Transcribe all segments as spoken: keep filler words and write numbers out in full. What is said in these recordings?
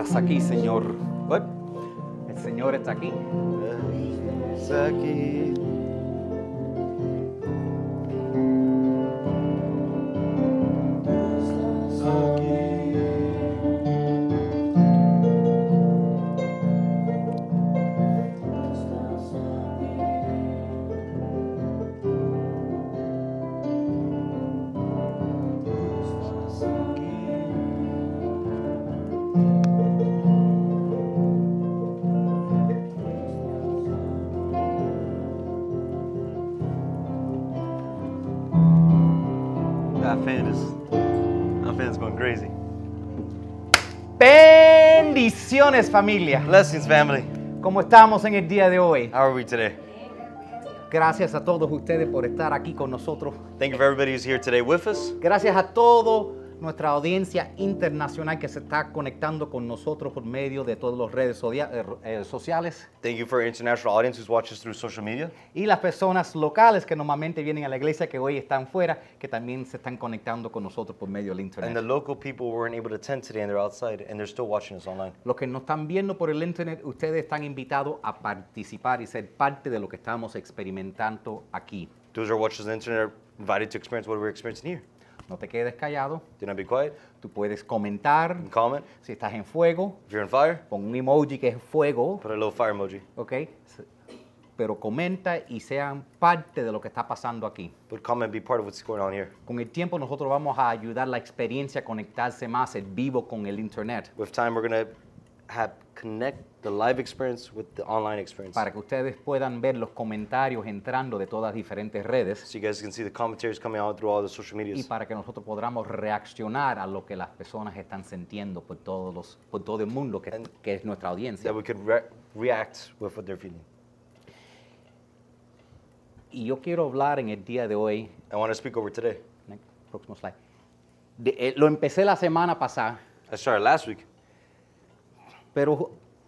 Estás aquí, Señor. What? El Señor está aquí. Está aquí. That fan is, that fan's going crazy. Bendiciones, familia. Blessings, family. ¿Cómo estamos en el día de hoy? How are we today? Gracias a todos ustedes por estar aquí con nosotros. Thank you for everybody who's here today with us. Gracias a toda nuestra audiencia internacional que se está conectando con nosotros por medio de todas las redes sodia- eh, eh, sociales. Thank you for our international audience who's watched us through social media. Y las personas locales que normalmente vienen a la iglesia, que hoy están fuera, que también se están conectando con nosotros por medio del And the internet. local people weren't able to attend today and they're outside and they're still watching us online. Los que nos están viendo por el internet, ustedes están invitados a participar y ser parte de lo que estamos experimentando aquí. Those who are watching us on the internet are invited to experience what we're experiencing here. No te quedes callado, Do not be quiet. tú puedes comentar. You can comment. Si estás en fuego, If you're on fire, pon un emoji que es fuego, put a little fire emoji. ¿ok? Pero comenta y sean parte de lo que está pasando aquí. But comment and be part of what's going on here. Con el tiempo nosotros vamos a ayudar la experiencia a conectarse más el vivo con el internet With time, we're going to have connect the live experience with the online experience. para que ustedes puedan ver los comentarios entrando de todas las diferentes redes So you guys can see the commentaries coming out through all the social y medias. para que nosotros podamos reaccionar a lo que las personas están sintiendo por, todos los, por todo el mundo que, And- que es nuestra audiencia. That we could re- react with what they're feeling. Y yo quiero hablar en el día de hoy, I want to speak over today. next, próximo slide, de- eh, lo empecé la semana pasada, I started last week. pero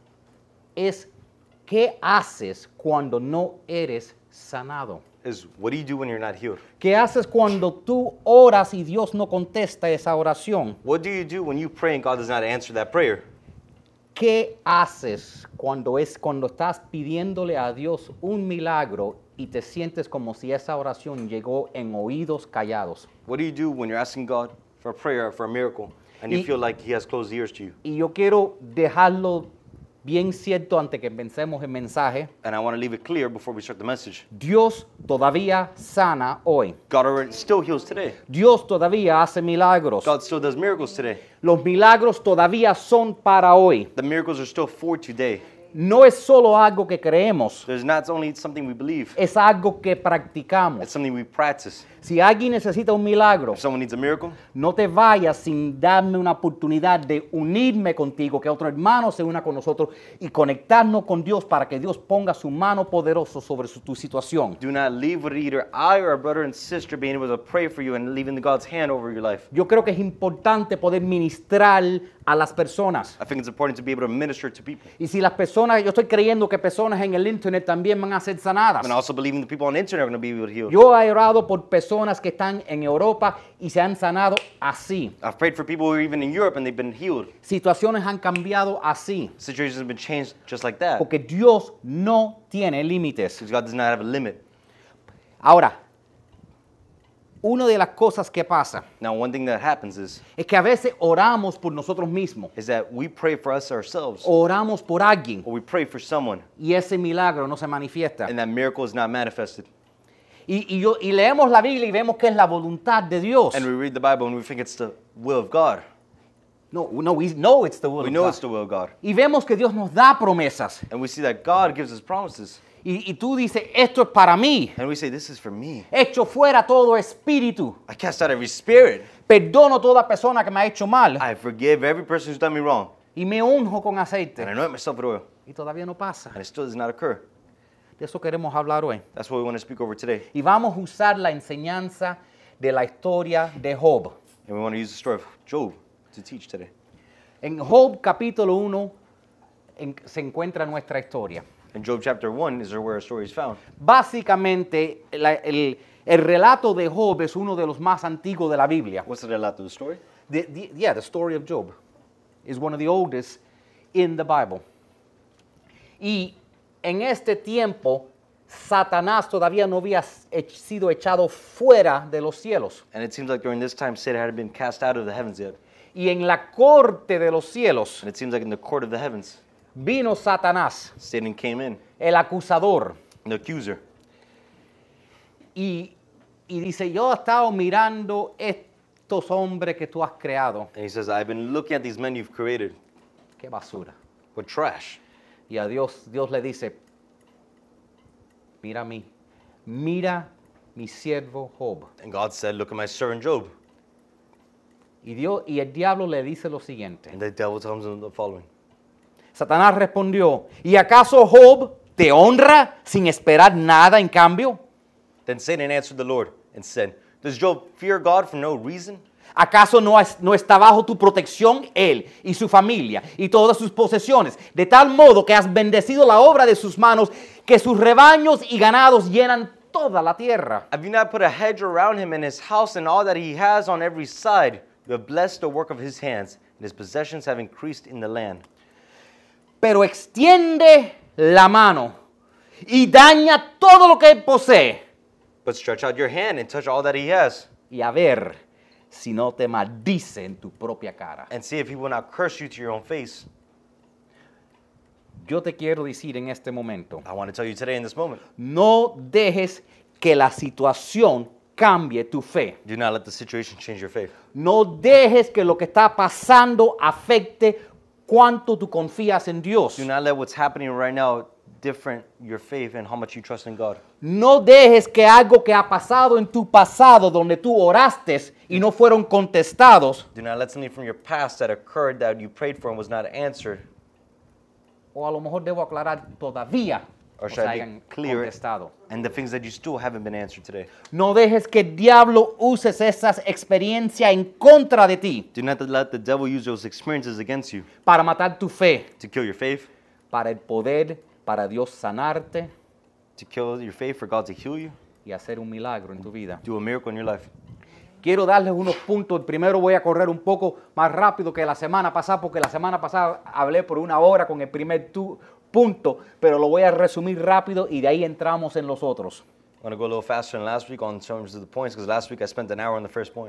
es ¿qué haces cuando no eres sanado? Is what do you do when you're not healed? ¿Qué haces cuando tú oras y Dios no contesta esa oración? What do you do when you pray and God does not answer that prayer? ¿Qué haces cuando, es, cuando estás pidiéndole a Dios un milagro y te sientes como si esa oración llegó en oídos callados? What do you do when you're asking God for a prayer, for a miracle, and you Y- feel like He has closed ears to you? Y yo quiero dejarlo bien cierto antes que pensemos el mensaje. And I want to leave it clear before we start the message. Dios todavía sana hoy. God already still heals today. Dios todavía hace milagros. God still does miracles today. Los milagros todavía son para hoy. The miracles are still for today. No es solo algo que creemos, There's not only something we believe, es algo que it's practicamos. something we practice. Si alguien necesita un milagro, If someone needs a miracle, no te vayas sin darme una oportunidad de unirme contigo, que otro hermano se una con nosotros y conectarnos con Dios para que Dios ponga su mano poderosa sobre su- tu situación. do not leave with either I or a brother and sister being able to pray for you and leaving God's hand over your life. Yo creo que es importante poder ministrar a las personas. I think it's important to be able to minister to people. Y si las personas, yo estoy creyendo que personas en el internet también van a ser sanadas. And also believing the people on the internet are going to be able to heal. Yo he orado por personas que están en Europa y se han sanado así. I've prayed for people who are even in Europe and they've been healed. Situaciones han cambiado así. Situations have been changed just like that. Porque Dios no tiene límites. Because God does not have a limit. Ahora, una de las cosas que pasa Now, one thing that happens is, es que a veces oramos por nosotros mismos. is that we pray for us ourselves, Oramos por alguien or we pray for someone, y ese milagro no se manifiesta. and that miracle is not manifested. Y, y yo, y leemos la Biblia y vemos que es la voluntad de Dios. And we read the Bible and we think it's the will of God. No, no, we know it's the will We of know God. it's the will of God. Y vemos que Dios nos da promesas. And we see that God gives us promises. Y, y tú dices, esto es para mí. And we say, this is for me. Echo fuera todo espíritu. I cast out every spirit. Perdono toda persona que me ha hecho mal. I forgive every person who's done me wrong. Y me unjo con And I aceite. anoint myself with oil. Y todavía no pasa. And it still does not occur. De eso queremos hablar hoy. That's what we want to speak over today. Y vamos a usar la enseñanza de la historia de Job. And we want to use the story of Job to teach today. En Job capítulo uno en- se encuentra nuestra historia. In Job chapter one is where our story is found. Básicamente, la- el, el relato de Job es uno de los más antiguos de la Biblia. What's the relato of the story? The, the, yeah, the story of Job is one of the oldest in the Bible. Y en este tiempo, Satanás todavía no había ech- sido echado fuera de los cielos. And it seems like during this time, Satan hadn't been cast out of the heavens yet. Y en la corte de los cielos And it seems like in the court of the heavens, vino Satanás, Satan came in, el acusador, the accuser. y, y dice, yo he estado mirando estos hombres que tú has creado. And he says, I've been looking at these men you've created. Qué basura. What trash. Y a Dios, Dios le dice, mira a mí, mira mi siervo Job. And God said, look at my servant Job. Y, Dios, y el diablo le dice lo siguiente. And the devil tells him the following. Satanás respondió, ¿y acaso Job te honra sin esperar nada en cambio? Then Satan answered the Lord and said, does Job fear God for no reason? ¿Acaso no, es- no está bajo tu protección él y su familia y todas sus posesiones, de tal modo que has bendecido la obra de sus manos, que sus rebaños y ganados llenan toda la tierra? Have you not put a hedge around him and his house and all that he has on every side? You have blessed the work of his hands, and his possessions have increased in the land. Pero extiende la mano y daña todo lo que él posee, But stretch out your hand and touch all that he has, y a ver si no te maldice en tu propia cara. and see if he will not curse you to your own face. Yo te quiero decir en este momento, I want to tell you today in this moment, no dejes que la situación cambie tu fe. do not let the situation change your faith. No dejes que lo que está pasando afecte cuánto tú confías en Dios. Do not let what's happening right now different your faith and how much you trust in God. No dejes que algo que ha pasado en tu pasado, donde tú oraste y no fueron contestados, Do not let something from your past that occurred that you prayed for and was not answered, o a lo mejor debo aclarar todavía, or no se should I hayan be clear, contestado. and the things that you still haven't been answered today. No dejes que el diablo use esas experiencias en contra de ti Do not let the devil use those experiences against you para matar tu fe, to kill your faith, para el poder, para Dios sanarte to kill your faith for God to heal you, y hacer un milagro en tu vida. do a miracle in your life. Quiero darles unos puntos. Primero voy a correr un poco más rápido que la semana pasada, porque la semana pasada hablé por una hora con el primer tu- punto, pero lo voy a resumir rápido y de ahí entramos en los otros. I'm going to go a little faster than last week on terms of the points, because last week I spent an hour on the first point.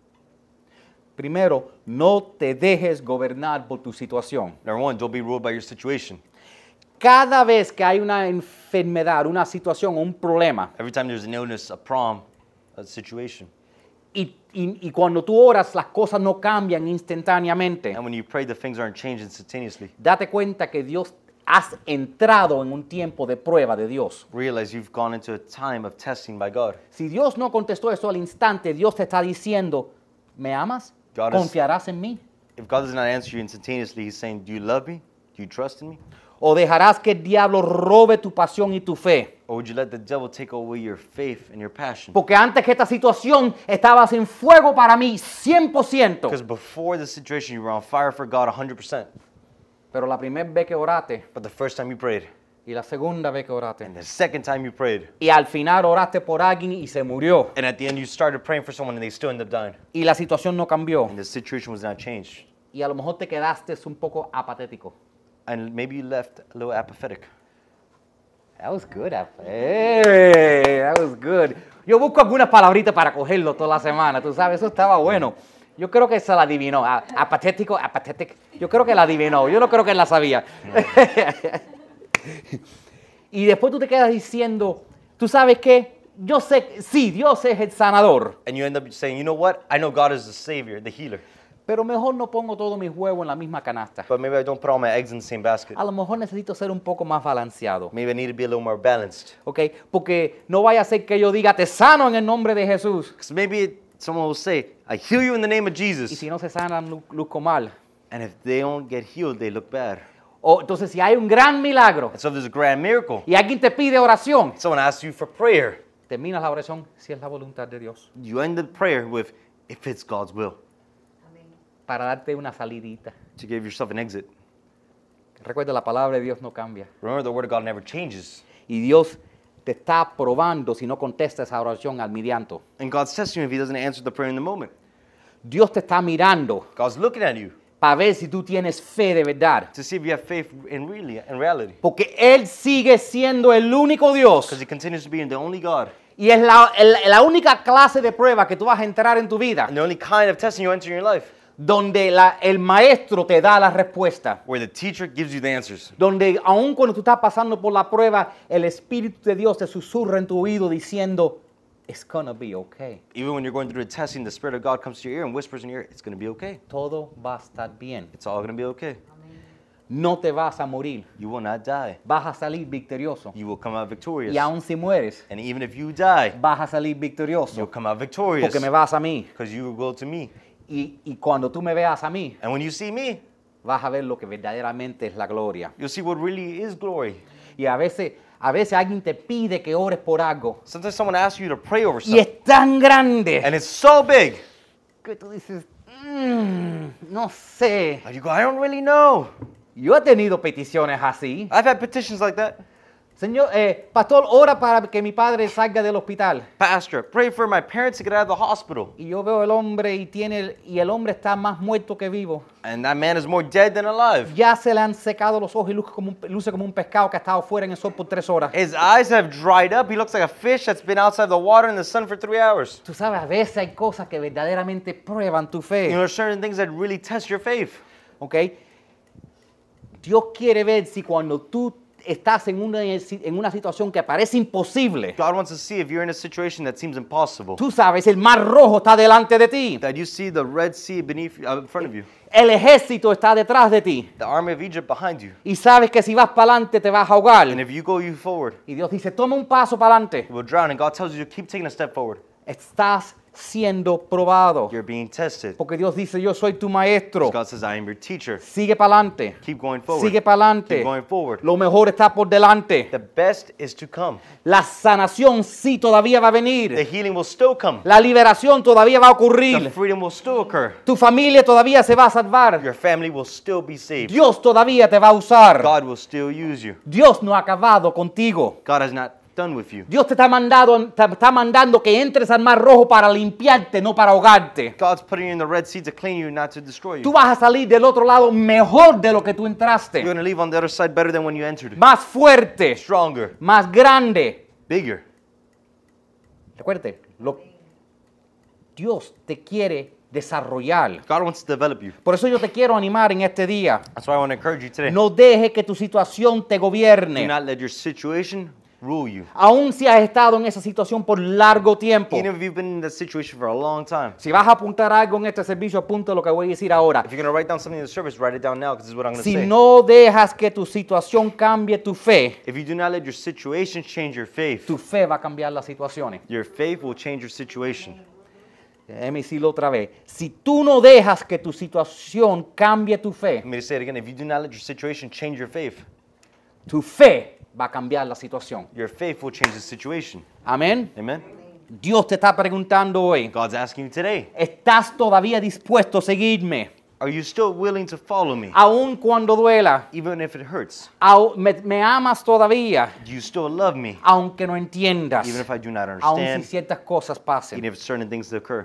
Primero, no te dejes gobernar por tu situación. Number one, don't be ruled by your situation. Cada vez que hay una enfermedad, una situación o un problema, Every time there's an illness, a problem, a situation, y, y- y cuando tú oras las cosas no cambian instantáneamente, and when you pray, the things aren't changed instantaneously. date cuenta que Dios has entrado en un tiempo de prueba de Dios. Realize you've gone into a time of testing by God. Si Dios no contestó eso al instante, Dios te está diciendo, ¿me amas? God is- ¿Confiarás en mí? If God does not answer you instantaneously, He's saying, do you love me? Do you trust in me? ¿O dejarás que el diablo robe tu pasión y tu fe? Or would you let the devil take away your faith and your passion? Porque antes que esta situación estabas en fuego para mí, cien por ciento. Because before the situation, you were on fire for God one hundred percent. Pero la primera vez que oraste, But the first time you prayed, y la segunda vez que oraste, and the second time you prayed, y al final oraste por alguien y se murió, and at the end you started praying for someone and they still ended up dying, y la situación no cambió, and the situation was not changed, y a lo mejor te quedaste un poco apatético. and maybe you left a little apathetic. That was good. Ap- Hey, that was good. Yo busco algunas palabritas para cogerlo toda la semana, tú sabes, eso estaba bueno. Yo creo que se la adivinó. A- Apatético, apatético. Yo creo que la adivinó. Yo no creo que él la sabía. Y después tú te quedas diciendo, ¿tú sabes qué? Yo sé, sí, Dios es el sanador, And you end up saying, you know what? I know God is the Savior, the healer, pero mejor no pongo todos mis huevos en la misma canasta. but maybe I don't put all my eggs in the same basket. A lo mejor necesito ser un poco más balanceado, Maybe I need to be a little more balanced. ¿ok? Porque no vaya a ser que yo diga, te sano en el nombre de Jesús. Because maybe it, someone will say, I heal you in the name of Y Jesus. si no se sanan, lu- luzco mal. And if they don't get healed, they look bad. O entonces si hay un gran milagro And so if there's a grand miracle, y alguien te pide oración, someone asks you for prayer, terminas la oración si es la voluntad de Dios, you end the prayer with, if it's God's will, para darte una salidita. to give yourself an exit. Recuerda, la palabra de Dios no cambia. Remember, the word of God never changes. Y Dios te está probando si no contestas esa oración al medianto. And God's testing you if He doesn't answer the prayer in the moment. Dios te está mirando God's looking at you. para ver si tú tienes fe de verdad. to see if you have faith in really in reality. Porque Él sigue siendo el único Dios. Because he continues to be the only God. Y es la, el- la única clase de prueba que tú vas a entrar en tu vida, And the only kind of testing you enter in your life. donde la- el maestro te da la respuesta. Where the teacher gives you the answers. Donde aun cuando tú estás pasando por la prueba, el Espíritu de Dios te susurra en tu oído diciendo, it's gonna be okay. Even when you're going through the testing, the Spirit of God comes to your ear and whispers in your ear, it's going to be okay. Todo va a estar bien. It's all going to be okay. No te vas a morir. You will not die. Vas a salir victorioso. You will come out victorious. Y aun si mueres, And even if you die, vas a salir you'll victorioso. come out victorious. Porque me vas a mí. Because you will go to me. Y, y cuando tú me veas a mí, And when you see me, vas a ver lo que verdaderamente es la gloria. you'll see what really is glory. Y a veces, a veces alguien te pide que ores por algo. Sometimes someone asks you to pray over Y something. es tan grande And it's so big. que tú dices, "Mm, no sé. And you go, I don't really know. Yo he tenido peticiones así. I've had petitions like that. Señor, eh, pastor, ora para que mi padre salga del hospital. Pastor, pray for my parents to get out of the hospital. Y yo veo el hombre y tiene y el hombre está más muerto que vivo. And that man is more dead than alive. Ya se le han secado los ojos y luce como un, luce como un pescado que ha estado fuera en el sol por tres horas. His eyes have dried up. He looks like a fish that's been outside the water in the sun for three hours. Tú sabes, a veces hay cosas que verdaderamente prueban tu You know, fe. there's certain things that really test your faith. ¿Ok? Dios quiere ver si cuando tú estás en una, en una situación que parece imposible, God wants to see if you're in a situation that seems impossible. tú sabes, el mar rojo está delante de ti. That you see the Red Sea beneath you, uh, in front of you. El ejército está detrás de ti. The army of Egypt behind you. Y sabes que si vas para adelante te vas a ahogar. And if you go you forward, Y Dios dice, toma un paso para adelante. you will drown. And God tells you to keep taking a step forward. Estás siendo probado. You're being tested. Porque Dios dice, yo soy tu maestro. God says, I am your teacher. Sigue para adelante. Keep going forward. Sigue para adelante. Keep going forward. Lo mejor está por delante. The best is to come. La sanación sí todavía va a The venir. healing will still come. La liberación todavía va a The ocurrir. freedom will still occur. Tu familia todavía se va a salvar. Your family will still be saved. Dios todavía te va a usar. God will still use you. Dios no ha acabado contigo. God has not done with you. Dios te está, mandado, te está mandando que entres al mar rojo para limpiarte, no para ahogarte. God's putting you in the Red Sea to clean you, not to destroy Tú you. vas a salir del otro lado mejor de lo que tú You're entraste. going to leave on the other side better than when you entered. Más fuerte, Stronger, más grande. bigger. Recuerde, lo, Dios te quiere desarrollar. God wants to develop you. Por eso yo te quiero animar en este día. That's why I want to encourage you today. No deje que tu situación te Do gobierne. not let your situation rule you. Aún si has estado en esa situación por largo tiempo. Even if you've been in that situation for a long time. Si vas a apuntar algo en este servicio, apunta lo que voy a decir ahora. If you're going to write down something in the service, write it down now because this is what I'm going to Si say. no dejas que tu situación cambie tu fe, If you do not let your situation change your faith, tu fe va a cambiar las situaciones. your faith will change your situation. Déjame decirlo otra vez. Si tú no dejas que tu situación cambie tu fe, Let me say it again. If you do not let your situation change your faith, tu fe va a cambiar la situación. your faith will change the situation. Amén. Amen? Dios te está preguntando hoy, God's asking you today, ¿estás todavía dispuesto a seguirme? are you still willing to follow me? Aun cuando duela. Even if it hurts. Au- me, me amas todavía, Do you still love me? aunque no entiendas. Even if I do not Aun si understand, ciertas cosas even pasen. if certain things occur.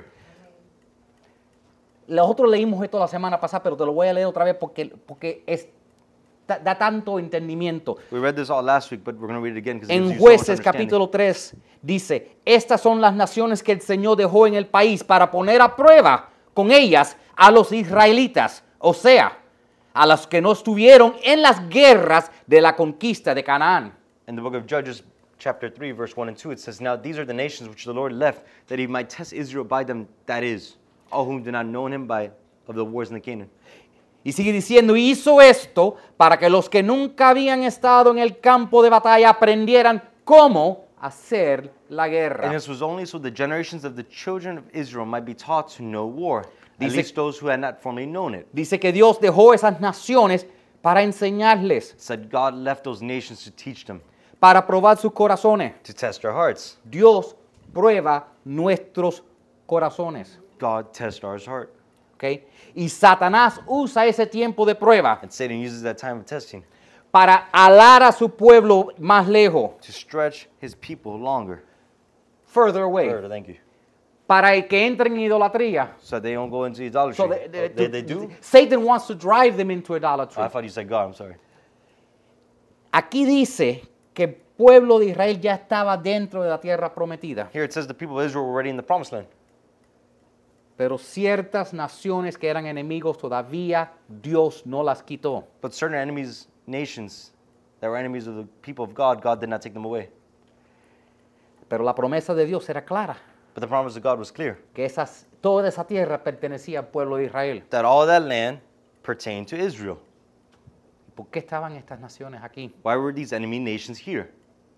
Nosotros leímos esto la semana pasada, pero te lo voy a leer otra vez porque, porque es, da, da tanto entendimiento. We read this all last week, but we're going to read it again because it En gives you so much Jueces understanding. capítulo tres dice, estas son las naciones que el Señor dejó en el país para poner a prueba con ellas a los israelitas, o sea, a los que no estuvieron en las guerras de la conquista de Canaán. In the book of Judges, chapter three, verse one and two, it says, Now these are the nations which the Lord left, that he might test Israel by them, that is, all whom do not know him by of the wars in the Canaan. Y sigue diciendo, hizo esto para que los que nunca habían estado en el campo de batalla aprendieran cómo hacer la And guerra. this was only so the generations of the children of Israel might be taught to know war, at Dice- least those who had not formerly known it. Dice que Dios dejó esas naciones para enseñarles, It said God left those nations to teach them, para probar sus corazones. to test their hearts. Dios prueba nuestros corazones. God tests our heart. ¿Ok? Y Satanás usa ese tiempo de prueba And Satan uses that time of testing para alar a su pueblo más lejos, to stretch his people longer. further away. Further, thank you. para que entren en idolatría. so they don't go into idolatry. So they, they- Oh, they, they do? Satan wants to drive them into idolatry. I thought you said God, I'm sorry. Aquí dice que el pueblo de Israel ya estaba dentro de la tierra prometida, Here it says the people of Israel were already in the promised land. pero ciertas naciones que eran enemigos todavía Dios no las quitó. But certain enemies, nations that were enemies of the people of God, God did not take them away. Pero la promesa de Dios era clara, But the promise of God was clear, que esas, toda esa tierra pertenecía al pueblo de Israel. that all that land pertained to Israel. ¿Por qué estaban estas naciones aquí? Why were these enemy nations here?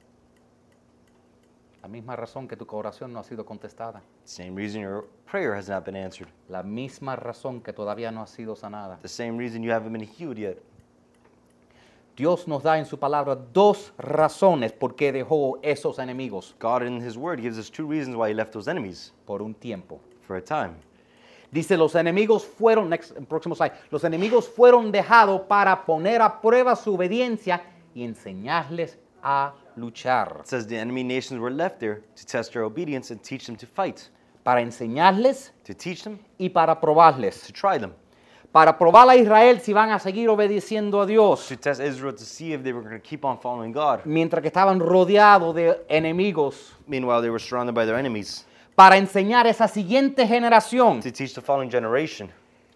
La misma razón que tu oración no ha sido contestada. Same reason your prayer has not been answered. La misma razón que todavía no ha sido sanada. The same reason you haven't been healed yet. Dios nos da en su palabra dos razones por qué dejó esos enemigos God in His Word gives us two reasons why He left those enemies por un tiempo. for a time. Dice, los enemigos fueron, next, próximo slide, los enemigos fueron dejados para poner a prueba su obediencia y enseñarles a luchar. It says the enemy nations were left there to test their obedience and teach them to fight, Para enseñarles to teach them, y para probarles. to try them, Para probar a Israel si van a seguir obedeciendo a Dios. to test Israel to see if they were going to keep on following God. Mientras que estaban rodeados de enemigos. Meanwhile, they were surrounded by their enemies, Para enseñar a esa siguiente generación. to teach the following generation.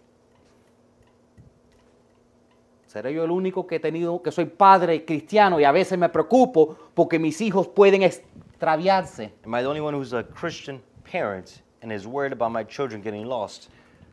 Seré yo el único que he tenido, que soy padre cristiano y a veces me preocupo porque mis hijos pueden extraviarse. Am I the only one who's a Christian parent and is worried about my children getting lost?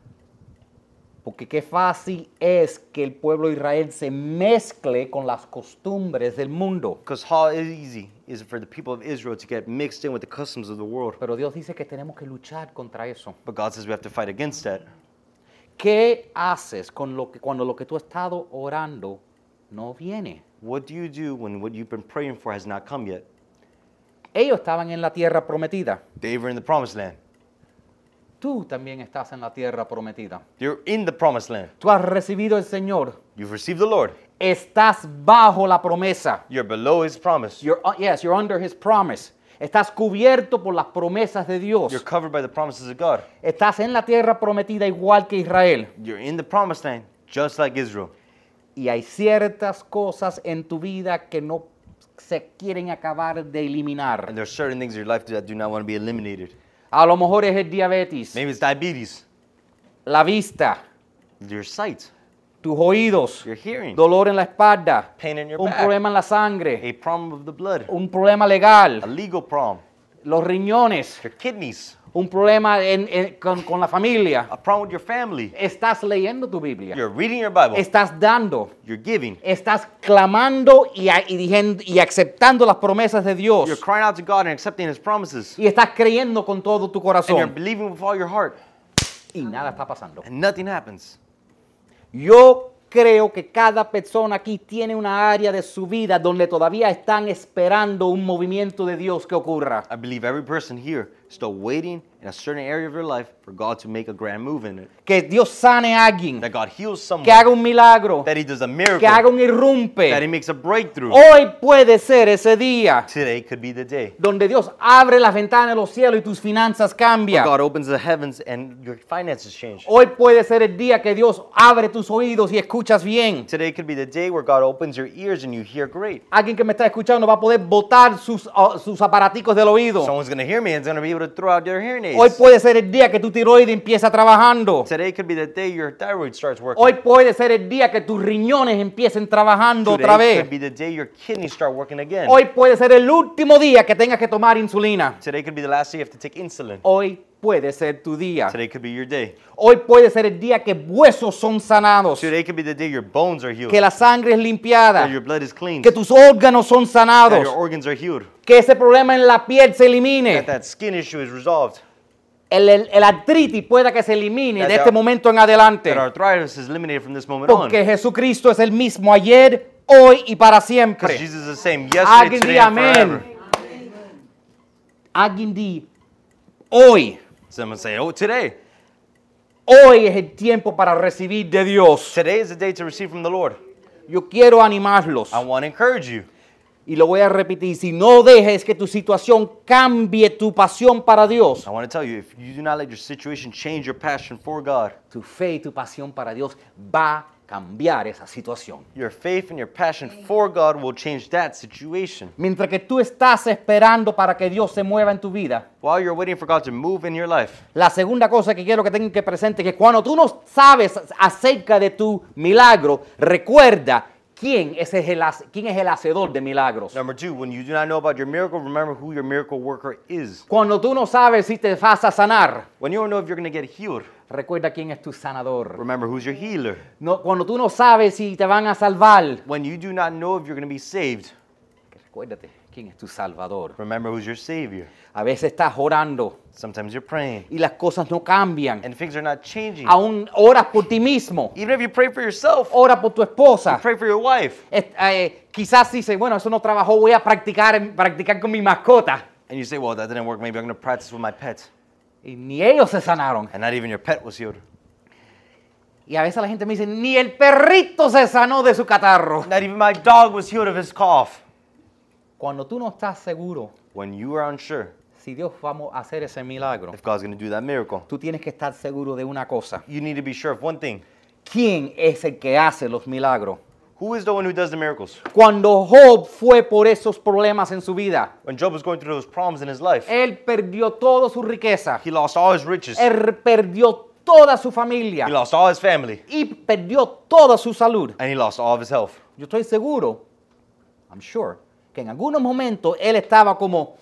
Porque qué fácil es que el pueblo de Israel se mezcle con las costumbres del mundo. Because how easy is it for the people of Israel to get mixed in with the customs of the world? Pero Dios dice que tenemos que luchar contra eso. But God says we have to fight against that. ¿Qué haces con lo que, cuando lo que tú has estado orando no viene? What do you do when what you've been praying for has not come yet? Ellos estaban en la tierra prometida. They were in the promised land. Tú también estás en la tierra prometida. You're in the promised land. Tú has recibido el Señor. You've received the Lord. Estás bajo la promesa. You're below His promise. You're, uh, yes, you're under His promise. Estás cubierto por las promesas de Dios. You're covered by the promises of God. Estás en la tierra prometida igual que Israel. You're in the promised land just like Israel. Y hay ciertas cosas en tu vida que no se quieren acabar de eliminar. And there are certain things in your life that do not want to be eliminated. A lo mejor es el diabetes, Maybe it's diabetes, la vista, your sight, tus oídos, your hearing, dolor en la espalda, pain in your un back, problema en la sangre, a problem of the blood, un problema a legal, legal problem, los riñones, your kidneys, un problema en- en- con, con la familia. a problem with your family. Estás leyendo tu Biblia, You're reading your Bible. estás dando, You're giving. estás clamando y, a- y, dijen- y aceptando las promesas de Dios. You're crying out to God and accepting His promises. Y estás creyendo con todo tu And you're corazón. believing with all your heart. Y nada está pasando. And nothing happens. Yo creo que cada persona aquí tiene una área de su vida donde todavía están esperando un movimiento de Dios que ocurra. I believe every person here is still waiting in a certain area of your life for God to make a grand move in it. Que Dios sane a alguien, That God heals someone. que haga un milagro, That He does a que miracle. haga un That He irrumpe. makes a breakthrough. Hoy puede ser ese día Today could be the day. donde Dios abre las ventanas de los cielos y tus finanzas Where cambian. God opens the heavens and your finances change. Hoy puede ser el día que Dios abre tus oídos y escuchas bien. Today could be the day where God opens your ears and you hear great. Alguien que me está escuchando va a poder botar sus, uh, sus aparaticos del oído. Someone's going to hear me and is going to be able to throw out their hearing aids. Hoy puede ser el día que tu tiroides empieza trabajando. Today could be the day your thyroid starts working. Hoy puede ser el día que tus riñones empiecen trabajando Today otra could vez. be the day your kidneys start working again. Hoy puede ser el último día que tengas que tomar insulina. Today could be the last day you have to take insulin. Hoy puede ser tu día. Today could be your day. Hoy puede ser el día que huesos son sanados, Today could be the day your bones are healed. que la sangre es limpiada, That your blood is cleansed. que tus órganos son That sanados, your organs are healed. que ese problema en la piel se elimine. That that skin issue is resolved. El, el- el artritis pueda que se elimine That de the- este momento en adelante. That arthritis is eliminated from this moment on. Porque Jesucristo es el mismo ayer, hoy y para Because siempre. Jesus is the same yesterday, Alguien today, diga and forever. amén. Alguien di hoy. Someone say, oh, today. Hoy es el tiempo para recibir de Dios. Today is the day to receive from the Lord. Yo quiero animarlos. I want to encourage you. Y lo voy a repetir, si no dejes que tu situación cambie tu pasión para Dios, I want to tell you, if you do not let your situation change your passion for God, tu fe y tu pasión para Dios va a cambiar esa situación. your faith and your passion for God will change that situation. Mientras que tú estás esperando para que Dios se mueva en tu vida, While you're waiting for God to move in your life, la segunda cosa que quiero que tengan que presente es que cuando tú no sabes acerca de tu milagro, recuerda quién es el, hace- quién es el hacedor de milagros. number two, when you do not know about your miracle, remember who your miracle worker is. Cuando tú no sabes si te vas a sanar, When you don't know if you're going to get healed, recuerda quién es tu sanador. remember who's your healer. No, cuando tú no sabes si te van a salvar, When you do not know if you're going to be saved, recuérdate quién es tu salvador. remember who's your savior. A veces estás orando Sometimes you're praying y las cosas no cambian. and things are not changing. Aún oras por ti mismo, Even if you pray for yourself, ora por tu esposa. pray for your wife, Es- eh, quizás dice, bueno, eso no trabajó, voy a practicar, practicar con mi mascota. and you say, well, that didn't work, maybe I'm going to practice with my pet. Y ni ellos se sanaron. And not even your pet was healed. Y a veces la gente me dice, ni el perrito se sanó de su catarro. Not even my dog was healed of his cough. Cuando tú no estás seguro When you are unsure si Dios va a hacer ese milagro, if God's going to do that miracle, tú tienes que estar seguro de una cosa. you need to be sure of one thing. ¿Quién es el que hace los milagros? Who is the one who does the miracles? Cuando Job fue por esos problemas en su vida, When Job was going through those problems in his life, él perdió toda su riqueza. he lost all his riches. Él perdió toda su He familia lost all his family. y perdió toda su salud. And he lost all of his health. Yo estoy seguro, I'm sure, que en algunos momentos él estaba como,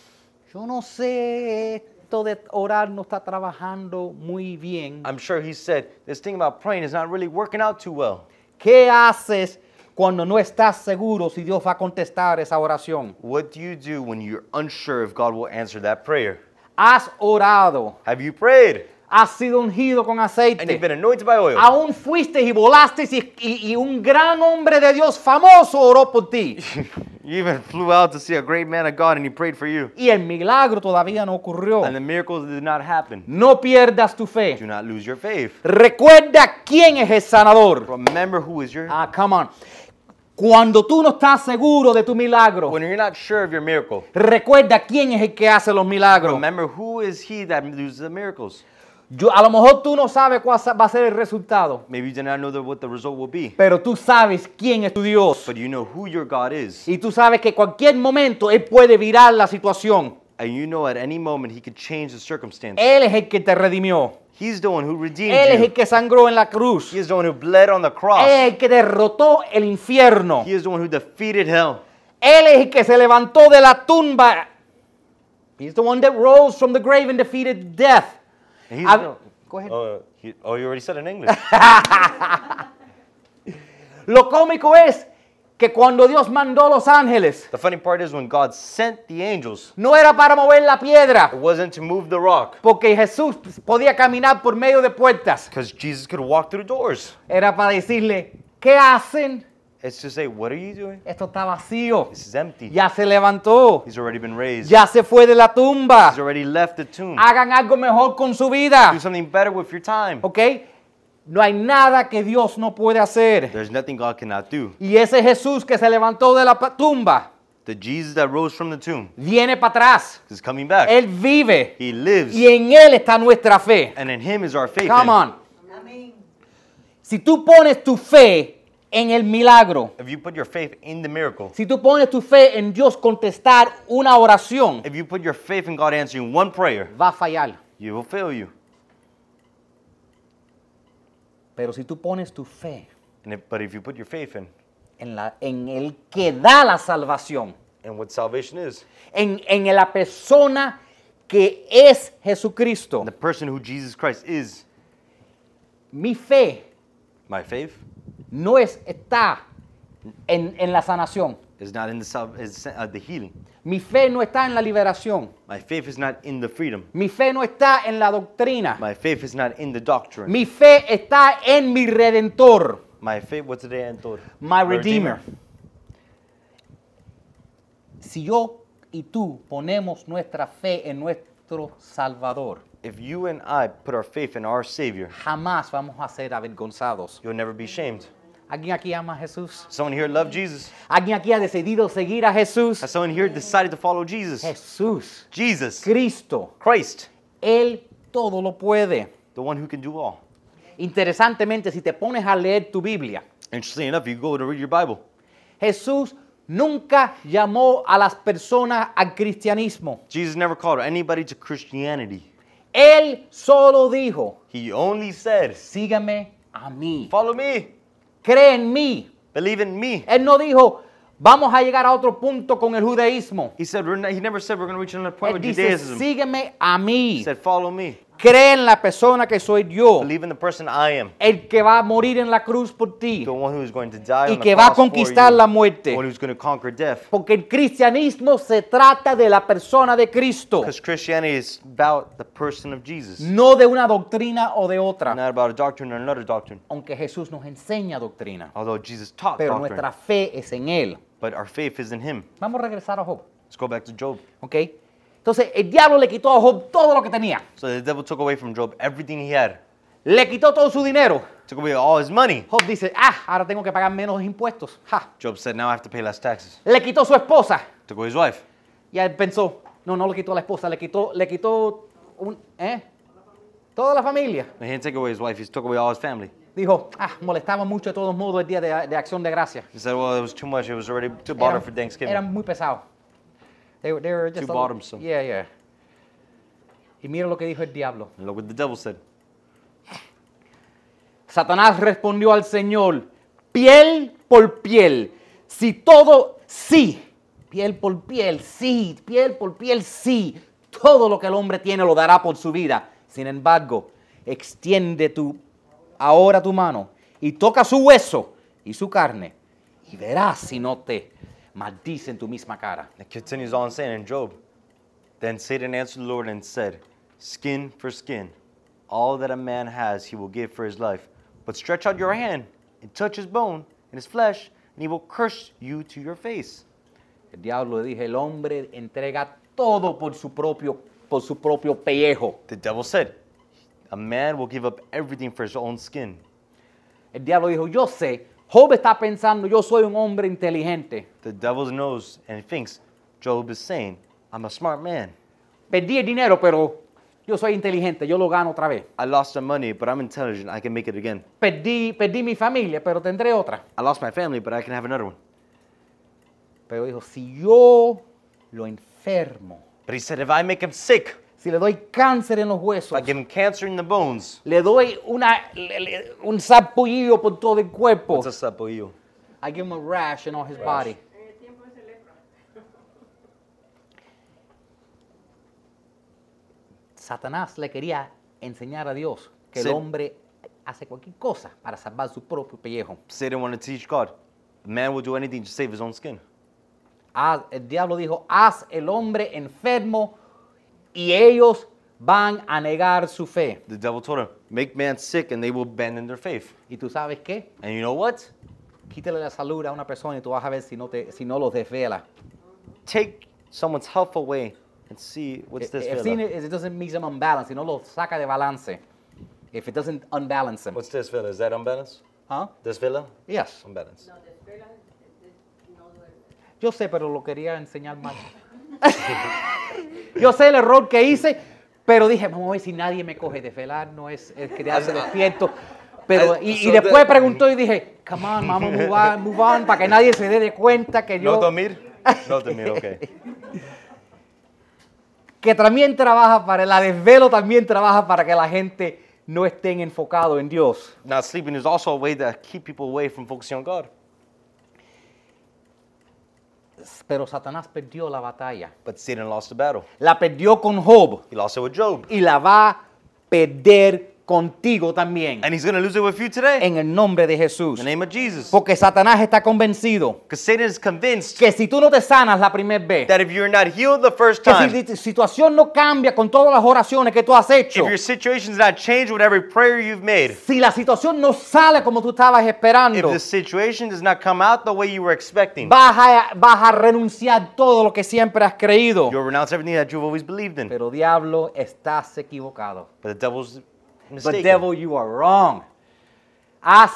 yo no sé, esto de orar no está trabajando muy bien. I'm sure he said, this thing about praying is not really working out too well. ¿Qué haces cuando no estás seguro si Dios va a contestar esa oración? What do you do when you're unsure if God will answer that prayer? Has orado, Have you prayed? has sido ungido con And you've aceite. been anointed by oil. Aún fuiste y volaste y, y- y un gran hombre de Dios famoso oró por ti. You even flew out to see a great man of God and he prayed for you. Y el milagro todavía no ocurrió. And the miracles did not happen. No pierdas tu fe. Do not lose your faith. Recuerda quién es el sanador. Remember who is your... Ah, come on. Cuando tú no estás seguro de tu milagro, When you're not sure of your miracle, recuerda quién es el que hace los milagros. remember who is he that does the miracles. Yo, a lo mejor tú no sabes cuál sa- va a ser el resultado, Maybe you do not know the, what the result will be. pero tú sabes quién es tu Dios. But you know who your God is. Y tú sabes que cualquier momento Él puede virar la situación. And you know at any moment he could change the circumstance. Él es el que te redimió. He's the one who redeemed Él es el you. que sangró en la cruz. He is the one who bled on the Él es cross. el que derrotó el infierno. He is the one who defeated hell. Él es el que se levantó de la tumba. He's the one that rose from the grave and defeated death. And he's A- the- Go ahead. oh, he- oh, you already said it in English. Lo cómico es que cuando Dios mandó a los ángeles, The funny part is when God sent the angels, no era para mover la piedra, it wasn't to move the rock. porque Jesús podía caminar por medio de puertas. Because Jesus could walk through doors. Era para decirle, ¿qué hacen? It's to say, what are you doing? Esto está vacío. This is empty. Ya se levantó. He's already been raised. Ya se fue de la tumba. He's already left the tomb. Hagan algo mejor con su vida. Do something better with your time. ¿Ok? No hay nada que Dios no puede hacer. There's nothing God cannot do. Y ese Jesús que se levantó de la pa- tumba The Jesus that rose from the tomb viene para atrás. is coming back. Él vive. He lives. Y en Él está nuestra fe. And in him is our faith. Come in. on. Si tú pones tu fe en el milagro, If you put your faith in the miracle, si tú pones tu fe en Dios contestar una oración, if you put your faith in God answering one prayer, va a fallar. He will fail you. Pero si tú pones tu fe And if, but if you put your faith in, en, la, en el que da la salvación, and what salvation is, en, en la persona que es Jesucristo, the person who Jesus Christ is, mi fe my faith no es, está en, en la sanación. is not in the, sal- is, uh, the healing. Mi fe no está en la liberación. My faith is not in the freedom. Mi fe no está en la doctrina. My faith is not in the doctrine. Mi fe está en mi Redentor, My faith, what's the day Antor? my Redeemer. Si yo y tú ponemos nuestra fe en nuestro Salvador, If you and I put our faith in our Savior, jamás vamos a ser avergonzados. you'll never be shamed. ¿Alguien aquí ama a Jesús? Someone here love Jesus? ¿Alguien aquí ha decidido seguir a Jesús? Has someone here decided to follow Jesus? Jesús, Jesus, Cristo, Christ, Él todo lo puede. the one who can do all. Interesantemente, si te pones a leer tu Biblia, Interestingly enough, you go to read your Bible. Jesús nunca llamó a las personas al cristianismo. Jesus never called anybody to Christianity. Él solo dijo, He only said, sígame a mí, follow me, cree en mí. believe in me. Él no dijo, vamos a llegar a otro punto con el judaísmo. He said, we're not, he never said we're going to reach another point Él with dice, Judaism. sígueme a He mí. said, follow me. Cree en la persona que soy yo, Believe in the person I am. el que va a morir en la cruz por ti, The one who is going to die y on the que va a cross for conquistar you. la The muerte. one who's going to conquer death. Porque el cristianismo se trata de la persona de Cristo, Because Christianity is about the person of Jesus. no de una doctrina o de otra. Not about a doctrine or another doctrine. Aunque Jesús nos enseña doctrina, Although Jesus taught pero doctrine. nuestra fe es en Él. But our faith is in him. Vamos a regresar a Job, Let's go back to Job. ¿ok? Entonces, el diablo le quitó a Job todo lo que tenía. So the devil took away from Job everything he had. Le quitó todo su dinero. Took away all his money. Job dice, ah, ahora tengo que pagar menos impuestos. Ja. Job said, now I have to pay less taxes. Le quitó su esposa. Took away his wife. Y él pensó, no, no le quitó a la esposa, le quitó, le quitó un, ¿eh? Toda la familia. He didn't take away his wife, he took away all his family. Dijo, ah, molestaba mucho de todos modos el día de, de acción de gracia. He said, well, it was too much. It was already too bottom for Thanksgiving. eran muy pesados. They, were- they were just Too a little- bottomsome. Yeah, yeah. Y mira lo que dijo el diablo. And look what the devil said. Satanás respondió al Señor, piel por piel, si todo, sí, piel por piel, sí, piel por piel, sí, todo lo que el hombre tiene lo dará por su vida. Sin embargo, extiende tu, ahora tu mano y toca su hueso y su carne y verás si no te maldice en tu misma cara. It continues on saying in Job, then Satan answered the Lord and said, skin for skin, all that a man has he will give for his life. But stretch out your hand and touch his bone and his flesh, and he will curse you to your face. El diablo le dije, el hombre entrega todo por su propio, por su propio pellejo. The devil said, a man will give up everything for his own skin. El diablo dijo, yo sé, Job está pensando, yo soy un hombre inteligente. The devil knows and thinks Job is saying, I'm a smart man. Perdí el dinero, pero yo soy inteligente, yo lo gano otra vez. I lost some money, but I'm intelligent. I can make it again. Perdí, perdí mi familia, pero tendré otra. I lost my family, but I can have another one. Pero dijo, si yo lo enfermo, But he said, if I make him sick, si le doy cáncer en los if huesos, I give him cancer in the bones, le doy una, le- le- un sarpullido por todo el cuerpo, what's a sapoillo? I give him a rash in all his body. Satanás le quería enseñar a Dios que el Sí. hombre hace cualquier cosa para salvar su propio pellejo. Satan wanted to teach God. A man will do anything to save his own skin. Haz- el diablo dijo, haz el hombre enfermo y ellos van a negar su fe. The devil told him, make man sick and they will abandon their faith. ¿Y tú sabes qué? And you know what? Quítale la salud a una persona y tú vas a ver si no, te, si no los desvela. Take someone's health away and see what's this If fella. it doesn't make them unbalanced, si no los saca de balance. If it doesn't unbalance them. What's this fella? Is that unbalanced? Huh? This fella? Yes. Unbalanced. Yo sé, pero lo quería enseñar mal. Yo sé el error que hice, pero dije, vamos a ver si nadie me coge. Desvelar no es, es quedarse despierto. Pero, y, y So después the- preguntó y dije, come on, vamos a move on, move on, para que nadie se dé de cuenta que yo... No dormir? No dormir, okay. Que también trabaja para, la desvelo también trabaja para que la gente no estén enfocados en Dios. Not sleeping is also a way to keep people away from focusing on God. Pero Satanás perdió la batalla. But Satan lost the battle. La perdió con Job He lost it with Job. y la va a perder contigo también. And he's going to lose it with you today. En el nombre de Jesús. In the name of Jesus. Porque Satanás está convencido Because Satan is convinced que si tú no te sanas la primera vez, that if you're not healed the first que time, si tu situación no cambia con todas las oraciones que tú has hecho, if your situation's not changed with every prayer you've made, si la situación no sale como tú estabas if esperando, the situation does not come out the way you were expecting, vas a, vas a renunciar todo lo que siempre has creído. you'll renounce everything that you've always believed in. Pero diablo, estás equivocado. But the devil's But mistaken. devil, you are wrong. Has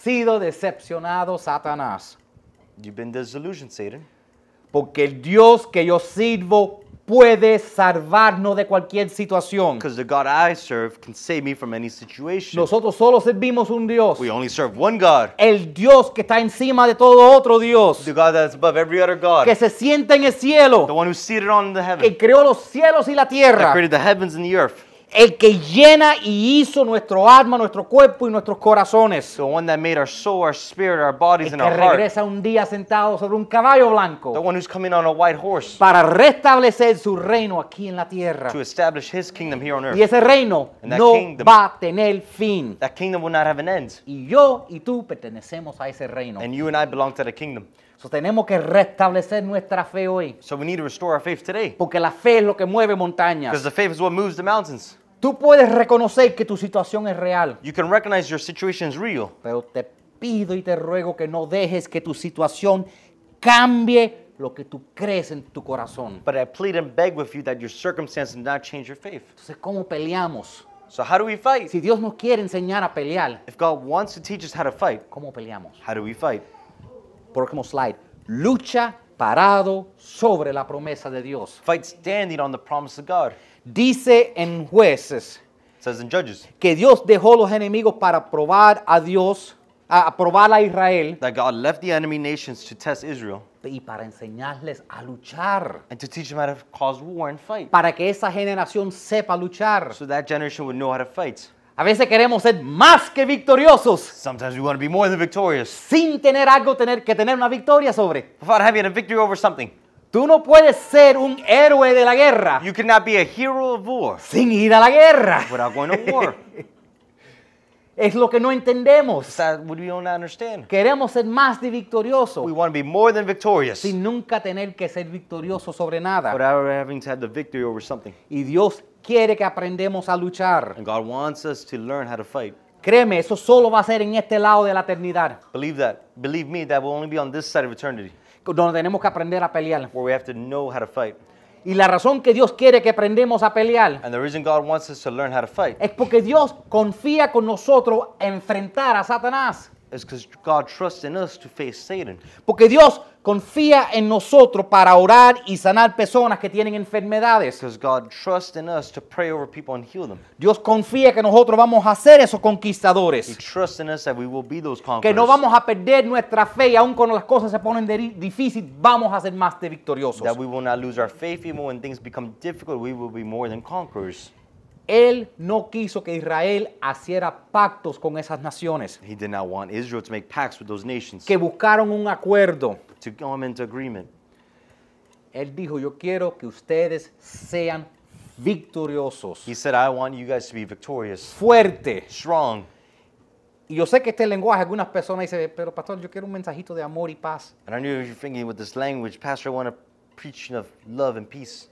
sido decepcionado, Satanás. You've been disillusioned, Satan. Porque el Dios que yo sirvo puede salvarnos de cualquier situación. Because the God I serve can save me from any situation. Nosotros solo servimos un Dios. We only serve one God. El Dios que está encima de todo otro Dios. The God that's above every other God. Que se sienta en el cielo. The one who's seated on the Que heaven. creó los cielos y la That tierra. created the heavens and the earth. El que llena y hizo nuestro alma, nuestro cuerpo y nuestros corazones. The one that made our soul, our spirit, our bodies, El and que our heart. regresa un día sentado sobre un caballo The blanco one who's coming on a white horse para restablecer su reino aquí en la tierra. to establish his kingdom here on Y earth. ese reino And that no kingdom- va a tener fin. That kingdom will not have an end. Y yo y tú pertenecemos a ese reino. And you and I belong to the kingdom. So, tenemos que restablecer nuestra fe hoy. So we need to restore our faith today. Porque la fe es lo que mueve Because montañas. the faith is what moves the mountains. Tú puedes reconocer que tu situación es real. You can recognize your situation is real. Pero te pido y te ruego que no dejes que tu situación cambie lo que tú crees en tu corazón. But I plead and beg with you that your circumstances do not change your faith. Entonces, ¿cómo peleamos? So how do we fight? Si Dios nos quiere enseñar a pelear, If God wants to teach us how to fight, ¿cómo peleamos? how do we fight? Próximo slide. Lucha parado sobre la promesa de Dios. Fight standing on the promise of God. Dice en Jueces It says in Judges que Dios dejó los enemigos para probar a Dios, a probar a Israel that God left the enemy nations to test Israel y para enseñarles a luchar. and to teach them how to cause war and fight. Para que esa generación sepa luchar. So that generation would know how to fight. A veces queremos ser más que victoriosos Sometimes we want to be more than victorious sin tener algo tener, que tener una victoria sobre. without having a victory over something. Tú no puedes ser un héroe de la guerra You cannot be a hero of war sin ir a la guerra. without going to war. Es lo que no entendemos. Is that what we don't understand? Queremos ser más de victorioso We want to be more than victorious sin nunca tener que ser victorioso sobre nada. without having to have the victory over something. Y Dios quiere que aprendamos a luchar. And God wants us to learn how to fight. Créeme, eso solo va a ser en este lado de la eternidad, Believe that. Believe me, that will only be on this side of eternity, donde tenemos que aprender a pelear. where we have to know how to fight. Y la razón que Dios quiere que aprendamos a pelear And the reason God wants us to learn how to fight es porque Dios confía con nosotros a enfrentar a Satanás. is because God trusts in us to face Satan. Porque Dios confía en nosotros para orar y sanar personas que tienen enfermedades. Because God trusts in us to pray over people and heal them. Dios confía que nosotros vamos a ser esos He conquistadores. trusts in us that we will be those Que conquerors. no vamos a perder nuestra fe y aun cuando las cosas se ponen de- difíciles, vamos a ser más de victoriosos. That we will not lose our faith even when things become difficult. We will be more than conquerors. Él no quiso que Israel hiciera pactos con esas naciones, He did not want Israel to make pacts with those nations, que buscaron un acuerdo. to come into agreement. Él dijo, yo quiero que ustedes sean victoriosos, He said, I want you guys to be victorious, fuertes. strong. Y yo sé que este lenguaje, algunas personas dicen, pero pastor, yo quiero un mensajito de amor y paz. And I knew you're thinking with this language, Pastor, I want to preach of love and peace.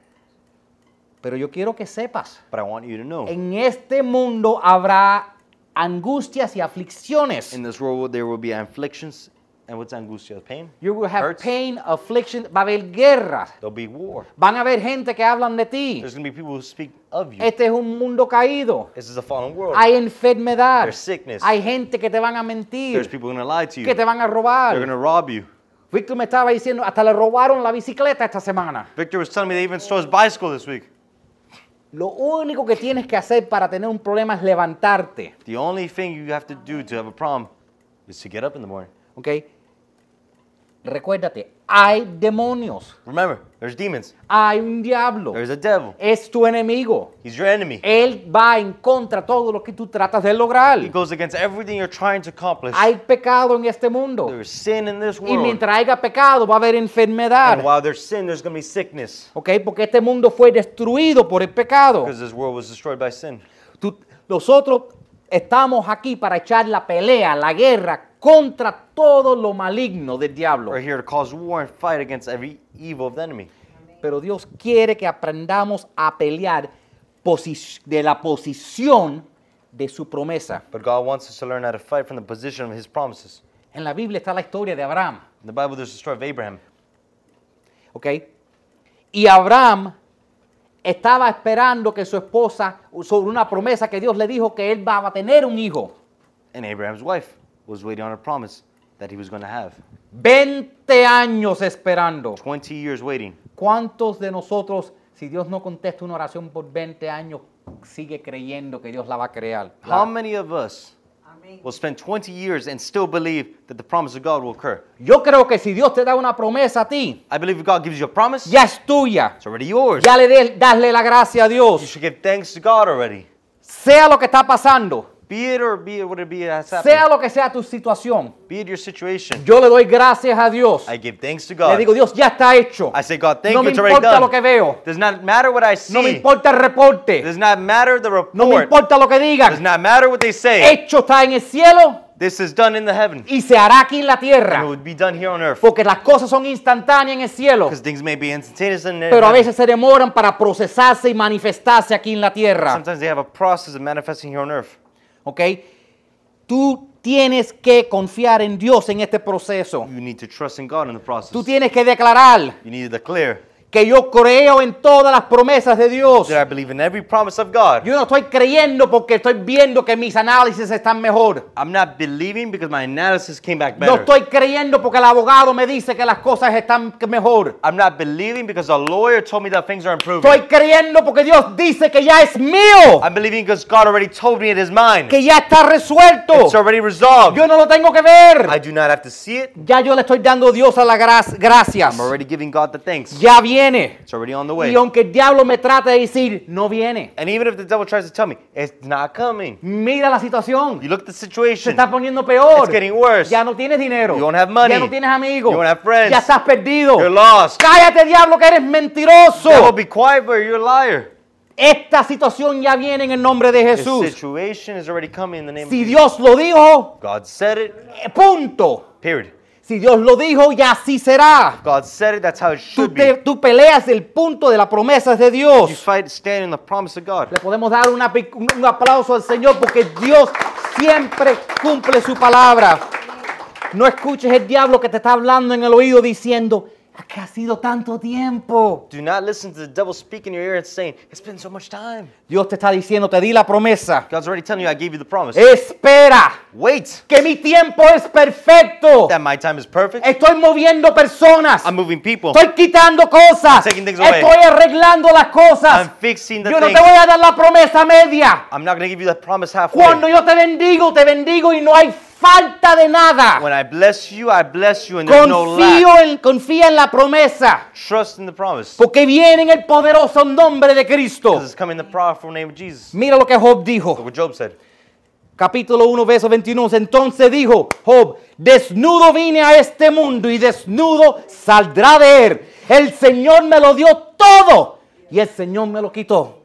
Pero yo quiero que sepas, But I want you to know, en este mundo habrá angustias y aflicciones. in this world there will be afflictions. And what's angustia? Pain? You will have Hurts. pain, affliction, va a haber guerras. There'll be war. Van a haber gente que hablan de ti. There's going to be people who speak of you. Este es un mundo caído. This is a fallen world. Hay enfermedad. There's sickness. Hay gente que te van a There's mentir, people going to lie to you. que te van a They're going robar. to rob you. Víctor me estaba diciendo, hasta le robaron la bicicleta esta semana. Victor was telling me they even stole his bicycle this week. Lo único que tienes que hacer para tener un problema es levantarte. The only thing you have to do to have a problem is to get up in the morning. ¿Ok? Recuérdate, hay demonios. Remember, there's demons. Hay un diablo. There's a devil. Es tu enemigo. He's your enemy. Él va en contra de todo lo que tú tratas de lograr. He goes against everything you're trying to accomplish. Hay pecado en este mundo. There's sin in this Y world. mientras haya pecado va a haber And enfermedad. while there's sin, there's going to be sickness. ¿Ok? Porque este mundo fue destruido por el pecado. Because this world was destroyed by sin. Tú- nosotros estamos aquí para echar la pelea, la guerra contra todo lo maligno del diablo. We're here to cause war and fight against every evil of the enemy. Pero Dios quiere que aprendamos a pelear posi- de la posición de su promesa. But God wants us to learn how to fight from the position of His promises. En la Biblia está la historia de Abraham. In the Bible, there's the story of Abraham. ¿Ok? Y Abraham estaba esperando que su esposa, sobre una promesa que Dios le dijo que él va a tener un hijo. And Abraham's wife was waiting on a promise that he was going to have. veinte años esperando. twenty years waiting. ¿Cuántos de nosotros, si Dios no contesta una oración por veinte años, sigue creyendo que Dios la va a crear? How many of us will spend twenty years and still believe that the promise of God will occur? Yo creo que si Dios te da una promesa a ti, I believe if God gives you a promise, ya es tuya. it's already yours. Ya le des, dasle la gracia a You Dios. should give thanks to God already. Sea lo que está pasando, Be it or be it what it be that's sea happening. lo que sea tu situación, Be it your situation. yo le doy gracias a Dios. I give thanks to Le God. digo, Dios, ya está hecho. I say, God, thank No you, me it's already importa lo que done. veo. Does not matter what I No me see. importa el reporte. Does not matter the No me report. importa lo que Does digan. not matter what they say. Hecho está en el cielo This is done in the heaven. y se hará aquí en la And it tierra. would be done here on earth. Porque las cosas son instantáneas en el cielo, Because things may be instantaneous in pero a heaven. veces se demoran para procesarse y manifestarse aquí en la tierra. Sometimes they have a process of manifesting here on earth. ¿Ok? Tú tienes que confiar en Dios en este proceso. You need to trust in God in the process. Tú tienes que declarar You need to declare que yo creo en todas las promesas de Dios. that I believe in every promise of God. Yo no estoy creyendo porque estoy viendo que mis análisis están mejor. I'm not believing because my analysis came back No better. estoy creyendo porque el abogado me dice que las cosas están mejor. I'm not believing because a lawyer told me that things are improving. Estoy creyendo porque Dios dice que ya es mío, I'm believing because God already told me it is mine. que ya está resuelto. It's already resolved. Yo no lo tengo que ver. I do not have to see it. Ya yo le estoy dando a Dios a la gra- gracias. I'm already giving God the thanks. Ya viene. It's already on the way. Y aunque el diablo me trate de decir, no viene. And even if the devil tries to tell me, it's not coming. Mira la situación. You look at the Se situation. está poniendo peor. It's getting worse. Ya no tienes dinero. You don't have money. Ya no tienes amigos. You don't have friends. Ya estás perdido. You're lost. Cállate, diablo, que eres mentiroso. Devil, be quiet, but you're a liar. Esta situación ya viene en el nombre de This Jesús. situation is already coming in the name Si of Jesus. Dios lo dijo, God said it, eh, punto. period. Si Dios lo dijo, ya así será. God said it, that's how it Tú, should te- be. tú peleas el punto de las promesas de You Dios. fight, stand in the promise of God. Le podemos dar una pi- un un aplauso al Señor porque Dios siempre cumple su palabra. No escuches el diablo que te está hablando en el oído diciendo, que ha sido tanto tiempo. Do not listen to the devil speak in your ear and saying, it's been so much time. Dios te está diciendo, te di la promesa. God's already telling you, I gave you the promise. Espera, Wait, que mi tiempo es perfecto. that my time is perfect. Estoy moviendo personas. I'm moving people. Estoy quitando cosas. I'm taking things away. Estoy arreglando las cosas. I'm fixing the Yo no things. te voy a dar la promesa media. I'm not going to give you that promise halfway. Cuando yo te bendigo, te bendigo y no hay falta de nada. When I bless you, I bless you and there's no Confío lack. en, confía en la promesa. Trust in the promise. Porque viene en el poderoso nombre de Cristo. Because it's coming in the powerful name of Jesus. Mira lo que Job Look dijo. what Job said. Capítulo uno, verso veintiuno. Entonces dijo Job, desnudo vine a este mundo y desnudo saldrá de él. El Señor me lo dio todo y el Señor me lo quitó.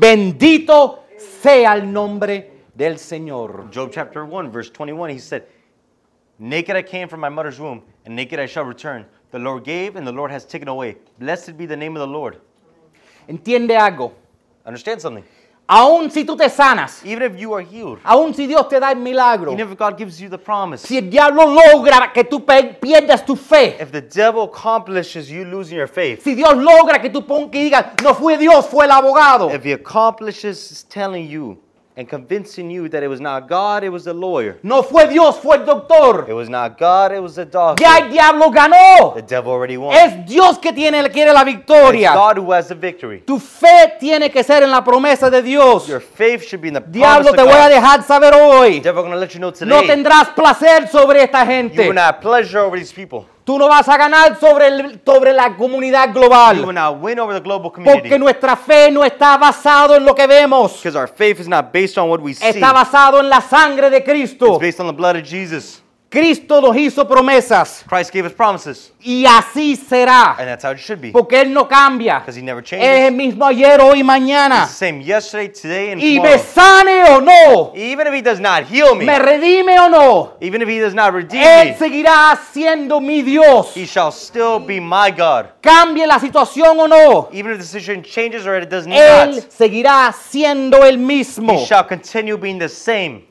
Bendito sea el nombre del Señor. Job chapter one, verse twenty-one, he said, naked I came from my mother's womb, and naked I shall return. The Lord gave, and the Lord has taken away. Blessed be the name of the Lord. Entiende algo. Understand something. Aún si tú te sanas, Even if you are healed, aún si Dios te da el milagro, even if God gives you the promise, si el diablo logra que tú pe- pierdas tu fe, if the devil accomplishes you losing your faith, si Dios logra que tú pon- que digas, no fue Dios, fue el abogado, if he accomplishes telling you and convincing you that it was not God, it was the lawyer, no fue Dios, fue el doctor, it was not God, it was the doctor, ya el diablo ganó. the devil already won. Es Dios que tiene, quiere la It's victoria. God who has the victory. Tu fe tiene que ser en la promesa de Dios. Your faith should be in the promise Diablo, of te voy a God. dejar saber hoy. Devil going to let you know No today. tendrás placer sobre esta You gente. will not have pleasure over these people. Tú no vas a ganar sobre, el- sobre la comunidad You will global. not win over the global community. Porque nuestra fe no está basado en lo que vemos. Because our faith is not based on what we see. Está basado en la sangre de Cristo. It's based on the blood of Jesus. Cristo nos hizo promesas. Christ gave us promises. Y así será. And that's how it should be. Porque Él no cambia. Because he never Es changes. el mismo ayer, hoy y mañana. It's the same yesterday, today, and Y me tomorrow. sane o no. Even if he does not heal me, Me redime o no. even if he does not redeem Él me, seguirá siendo mi Dios. he shall still be my God. Cambie la situación o no. Even if the situation changes or it does Él not, seguirá siendo el mismo. he shall continue being the same.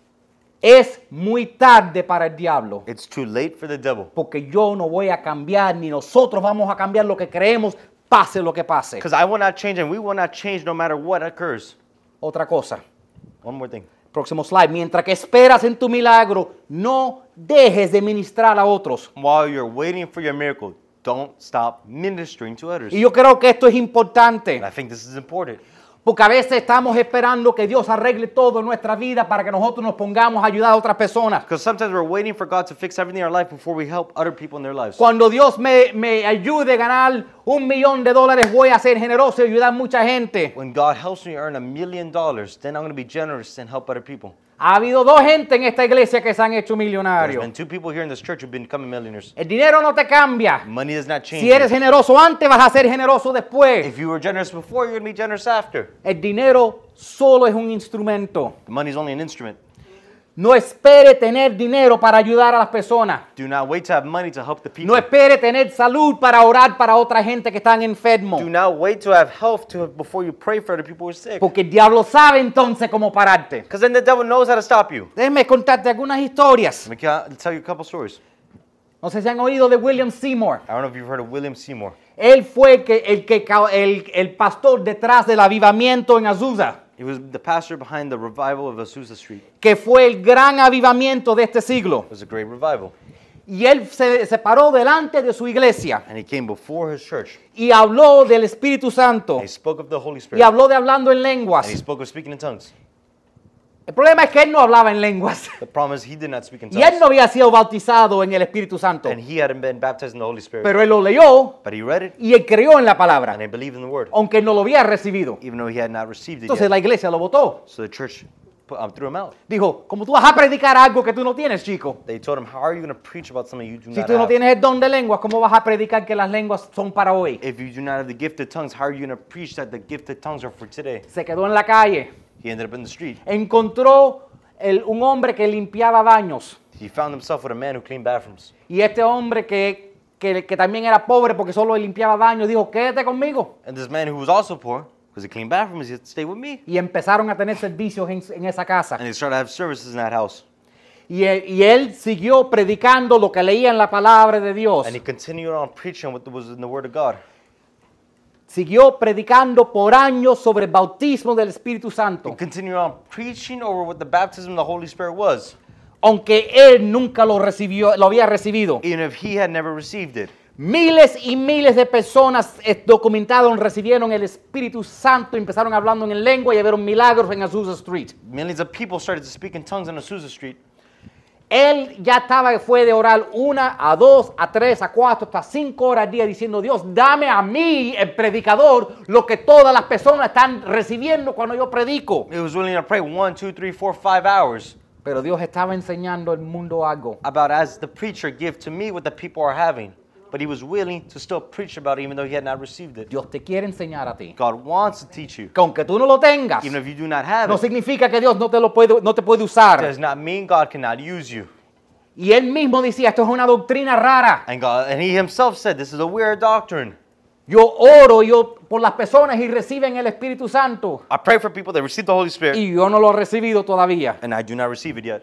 Es muy tarde para el diablo. It's too late for the devil. Porque yo no voy a cambiar, ni nosotros vamos a cambiar lo que creemos, pase lo que pase. Because I will not change and we will not change no matter what occurs. Otra cosa, One more thing. Próximo slide. Mientras que esperas en tu milagro, no dejes de ministrar a otros. While you're waiting for your miracle, don't stop ministering to others. Y yo creo que esto es importante. And I think this is important. Porque a veces estamos esperando que Dios arregle todo en nuestra vida para que nosotros nos pongamos a ayudar a otras personas. Because sometimes we're waiting for God to fix everything in our life before we help other people in their lives. Cuando Dios me, me ayude a ganar un millón de dólares, voy a ser generoso y ayudar a mucha gente. When God helps me earn a million dollars, then I'm going to be generous and help other people. Ha habido dos gente en esta iglesia que se han hecho There's millonarios. been two people here in this church who've become millionaires. El dinero no te cambia. Money does not change. Si eres you. generoso antes, vas a ser generoso después. If you were generous before, you're going to be generous after. El dinero solo es un instrumento. The money is only an instrument. No espere tener dinero para ayudar a las personas. Do not wait to have money to help the people. No espere tener salud para orar para otra gente que están enfermos. Do not wait to have health to before you pray for other people who are sick. Porque el diablo sabe entonces cómo pararte. Because then the devil knows how to stop you. Déjeme contarte algunas historias. Let me ca- tell you a couple stories. No sé si han oído de William Seymour. I don't know if you've heard of William Seymour. Él fue el, que, el, que, ca- el, el pastor detrás del avivamiento en Azusa, He was the pastor behind the revival of Azusa Street. que fue el gran avivamiento de este siglo. It was a great revival. Y él se, se paró delante de su iglesia And he came before his church. y habló del Espíritu Santo And he spoke of the Holy y Spirit. habló de hablando en And he lenguas. spoke of speaking in tongues. El problema es que él no hablaba en lenguas The problem is he did not speak in y él tongues. no había sido bautizado en el Espíritu Santo, And he hadn't been baptized in the Holy Spirit. pero él lo leyó But he read it y él creyó en la palabra, and he believed in the word. aunque él no lo había recibido. Even though he had not received it Entonces yet. la iglesia lo votó. So the church put, um, threw him out. Dijo, ¿cómo tú vas a predicar algo que tú no tienes, chico? They told him, how are you going to preach about something you do Si not tú no have? tienes el don de lenguas, ¿cómo vas a predicar que las lenguas son para hoy? If you do not have the gift of tongues, how are you going to preach that the gift of tongues are for today? Se quedó en la calle. He ended up in the street. Encontró el- un hombre que limpiaba baños. He found himself with a man who cleaned bathrooms. Y este hombre que, que, que también era pobre porque solo limpiaba baños, dijo, quédate conmigo. And this man who was also poor, because he cleaned bathrooms, he said, stay with me. Y empezaron a tener servicios en, en esa casa. And they started to have services in that house. Y, él- y él siguió predicando lo que leía en la palabra de Dios. And he continued on preaching what was in the Word of God. Siguió predicando por años sobre el bautismo del Espíritu He Santo. continued on preaching over what the baptism of the Holy Spirit was, Aunque él nunca lo recibió, lo había recibido. even if he had never received it. Miles y miles de personas eh, documentaron, recibieron el Espíritu Santo, empezaron hablando en lengua y vieron milagros en Azusa Street. Millions of people started to speak in tongues on Azusa Street. Él ya estaba, fue de orar una, a dos, a tres, a cuatro, hasta cinco horas al día diciendo, Dios, dame a mí, el predicador, lo que todas las personas están recibiendo cuando yo predico. He was willing to pray one, two, three, four, five hours Pero Dios estaba enseñando al mundo algo. about as the preacher give to me what the people are having. But he was willing to still preach about it even though he had not received it. Dios te quiere enseñar a ti. God wants to teach you. Que aunque tú no lo tengas, Even if you do not have no it, significa que Dios no te, lo puede, no te puede usar. does not mean God cannot use you. Y él mismo decía, esto es una doctrina rara. And God, and he himself said, this is a weird doctrine. Yo oro yo por las personas y reciben el Espíritu Santo. I pray for people that receive the Holy Spirit, Y yo no lo he recibido todavía. and I do not receive it yet.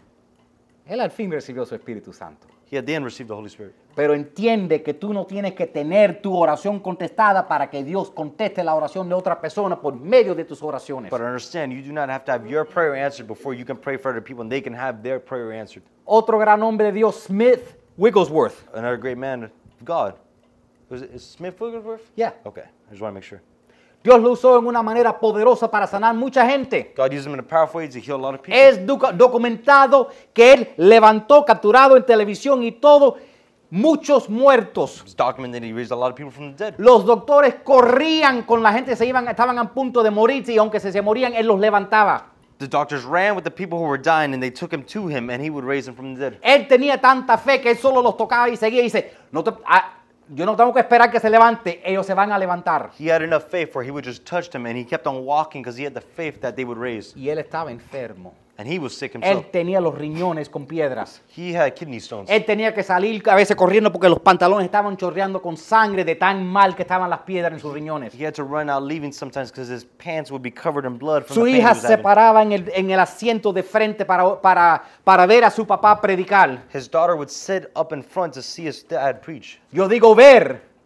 Él al fin recibió su Espíritu Santo. He at the end received the Holy Spirit. Pero entiende que tú no tienes que tener tu oración contestada para que Dios conteste la oración de otra persona por medio de tus oraciones. But understand, you do not have to have your prayer answered before you can pray for other people and they can have their prayer answered. Otro gran hombre de Dios, Smith Wigglesworth. Another great man of God. Was it is Smith Wigglesworth? Yeah. Okay, I just want to make sure. Dios lo usó en una manera poderosa para sanar mucha gente. God used him in a powerful way to heal a lot of people. Es docu- documentado que él levantó, capturado en televisión y todo, muchos muertos. It's documented he raised a lot of people from the dead. Los doctores corrían con la gente, se iban, estaban a punto de morirse y aunque se, se morían, él los levantaba. The doctors ran with the people who were dying and they took him to him and he would raise them from the dead. Él tenía tanta fe que él solo los tocaba y seguía y dice, no te, ah, yo no tengo que esperar que se levante, ellos se van a levantar. He had enough faith where he would just touch them and he kept on walking because he had the faith that they would raise. Y él estaba enfermo. And he was sick Él himself. tenía los riñones con piedras. He had kidney stones. Él tenía que salir a veces corriendo porque los pantalones estaban chorreando con sangre de tan mal que estaban las piedras en sus riñones. He had to run out leaving sometimes because his pants would be covered in blood from Su the pain he hija was se having. paraba en el, en el asiento de frente para, para, para ver a su papá predicar. His daughter would sit up in front to see his dad preach. Yo digo ver,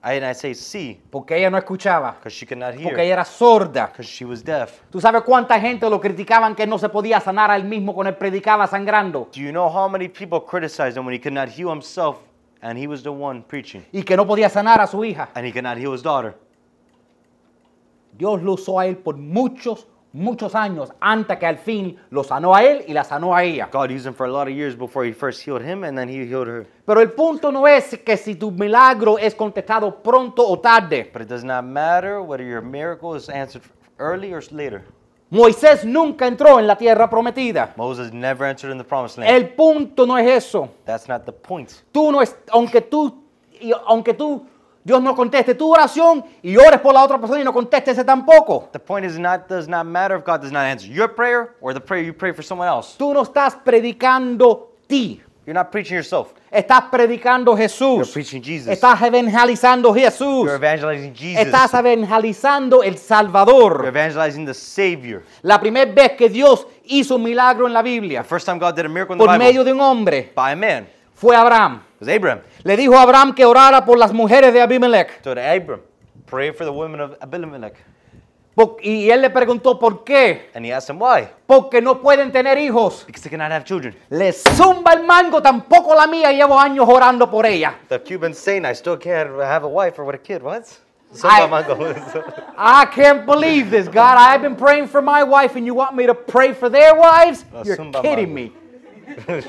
I, and I say see porque ella no escuchaba, because she could not porque hear, ella era sorda. because she was deaf. ¿Tú sabes cuánta gente lo criticaban que no se podía sanar a él mismo cuando él predicaba sangrando? Do you know how many people criticized him when he could not heal himself and he was the one preaching? Y que no podía sanar a su hija. And he could not heal his daughter. Dios lo usó a él por muchos, muchos años antes que al fin lo sanó a él y la sanó a ella. God used him for a lot of years before he first healed him and then he healed her. Pero el punto no es que si tu milagro es contestado pronto o tarde. But it does not matter whether your miracle is answered early or later. Moisés nunca entró en la tierra prometida. Moses never entered in the promised land. El punto no es eso. That's not the point. Tú no es, aunque tú, y aunque tú, Dios no conteste tu oración y ores por la otra persona y no conteste ese tampoco. The point is not does not matter if God does not answer your prayer or the prayer you pray for someone else. Tú no estás predicando ti. You're not preaching yourself. Estás predicando You're Jesús. preaching Jesus. Estás evangelizando Jesús. You're evangelizing Jesus. Estás evangelizando el You're Salvador. evangelizing the Savior. La primera vez que Dios hizo un milagro en la Biblia The first time God did a miracle in the por medio Bible de un hombre by a man fue Abraham. was Abraham. Le dijo a Abraham que orara por las mujeres de Abimelech. So to Abram, pray for the women of Abimelech. Po- Y él le preguntó por qué. And he asked him why. Porque no pueden tener hijos. Because they cannot have children. Le zumba el mango, tampoco la mía. Llevo años orando por ella. The Cubans saying I still can't have a wife or with a kid. What? I- I can't believe this, God. I've been praying for my wife and you want me to pray for their wives? No, You're zumba kidding mango. me.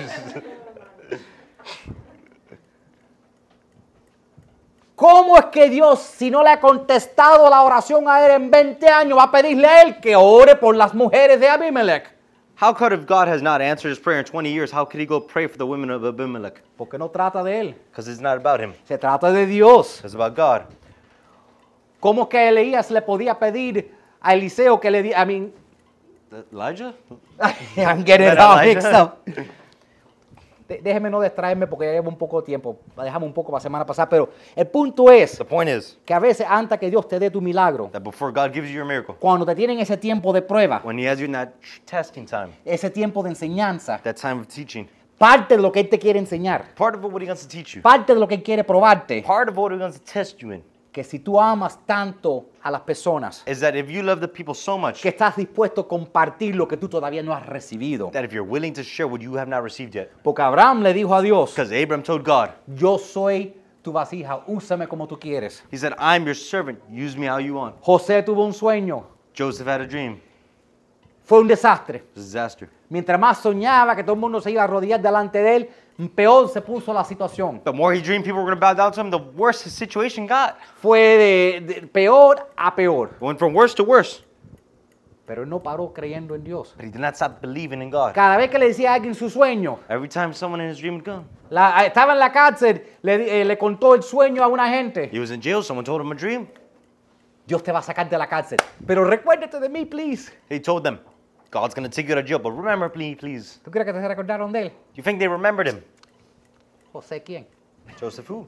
¿Cómo es que Dios, si no le ha contestado la oración a él en veinte años, va a pedirle a él que ore por las mujeres de Abimelech? How could if God has not answered his prayer in twenty years, how could he go pray for the women of Abimelech? Porque no trata de él, Because it's not about him. se trata de Dios. It's about God. ¿Cómo que Elías le podía pedir a Eliseo que le diera, I mean, Elijah? I'm getting it Era all Elijah. mixed up. De- Déjeme no distraerme porque ya llevo un poco de tiempo. La dejamos un poco para la semana pasada, pero el punto es The point is que a veces antes que Dios te dé tu milagro, that before God gives you your miracle, cuando te tienen ese tiempo de prueba, when he has you in that tr- testing time, ese tiempo de enseñanza, that time of teaching, parte de lo que Él te quiere enseñar, part of what he wants to teach you, parte de lo que Él quiere probarte, part of what he wants to test you in, que si tú amas tanto a las personas, is that if you love the people so much, que estás dispuesto a compartir lo que tú todavía no has recibido. that if you're willing to share what you have not received yet. Porque Abraham le dijo a Dios, Because Abram told God, yo soy tu vasija, úsame como tú quieres. he said, I'm your servant, use me how you want. José tuvo un sueño, Joseph had a dream. fue un desastre. It was a disaster. Mientras más soñaba que todo el mundo se iba a arrodillar delante de él, peor se puso la situación. The more he dreamed people were going to bow down to him, the worse his situation got. Fue de, de peor a peor. It went from worse to worse. Pero él no paró creyendo en Dios. But he did not stop believing in God. Cada vez que le decía a alguien su sueño, Every time someone in his dream would come, la- estaba en la cárcel, le, di- eh, le contó el sueño a una gente. he was in jail, someone told him a dream. Dios te va a sacar de la cárcel. Pero recuérdate de mí, please. He told them, God's going to take you to jail, but remember me, please. ¿Tú crees que te recordaron de él? You think they remembered him? José, ¿quién? Joseph who?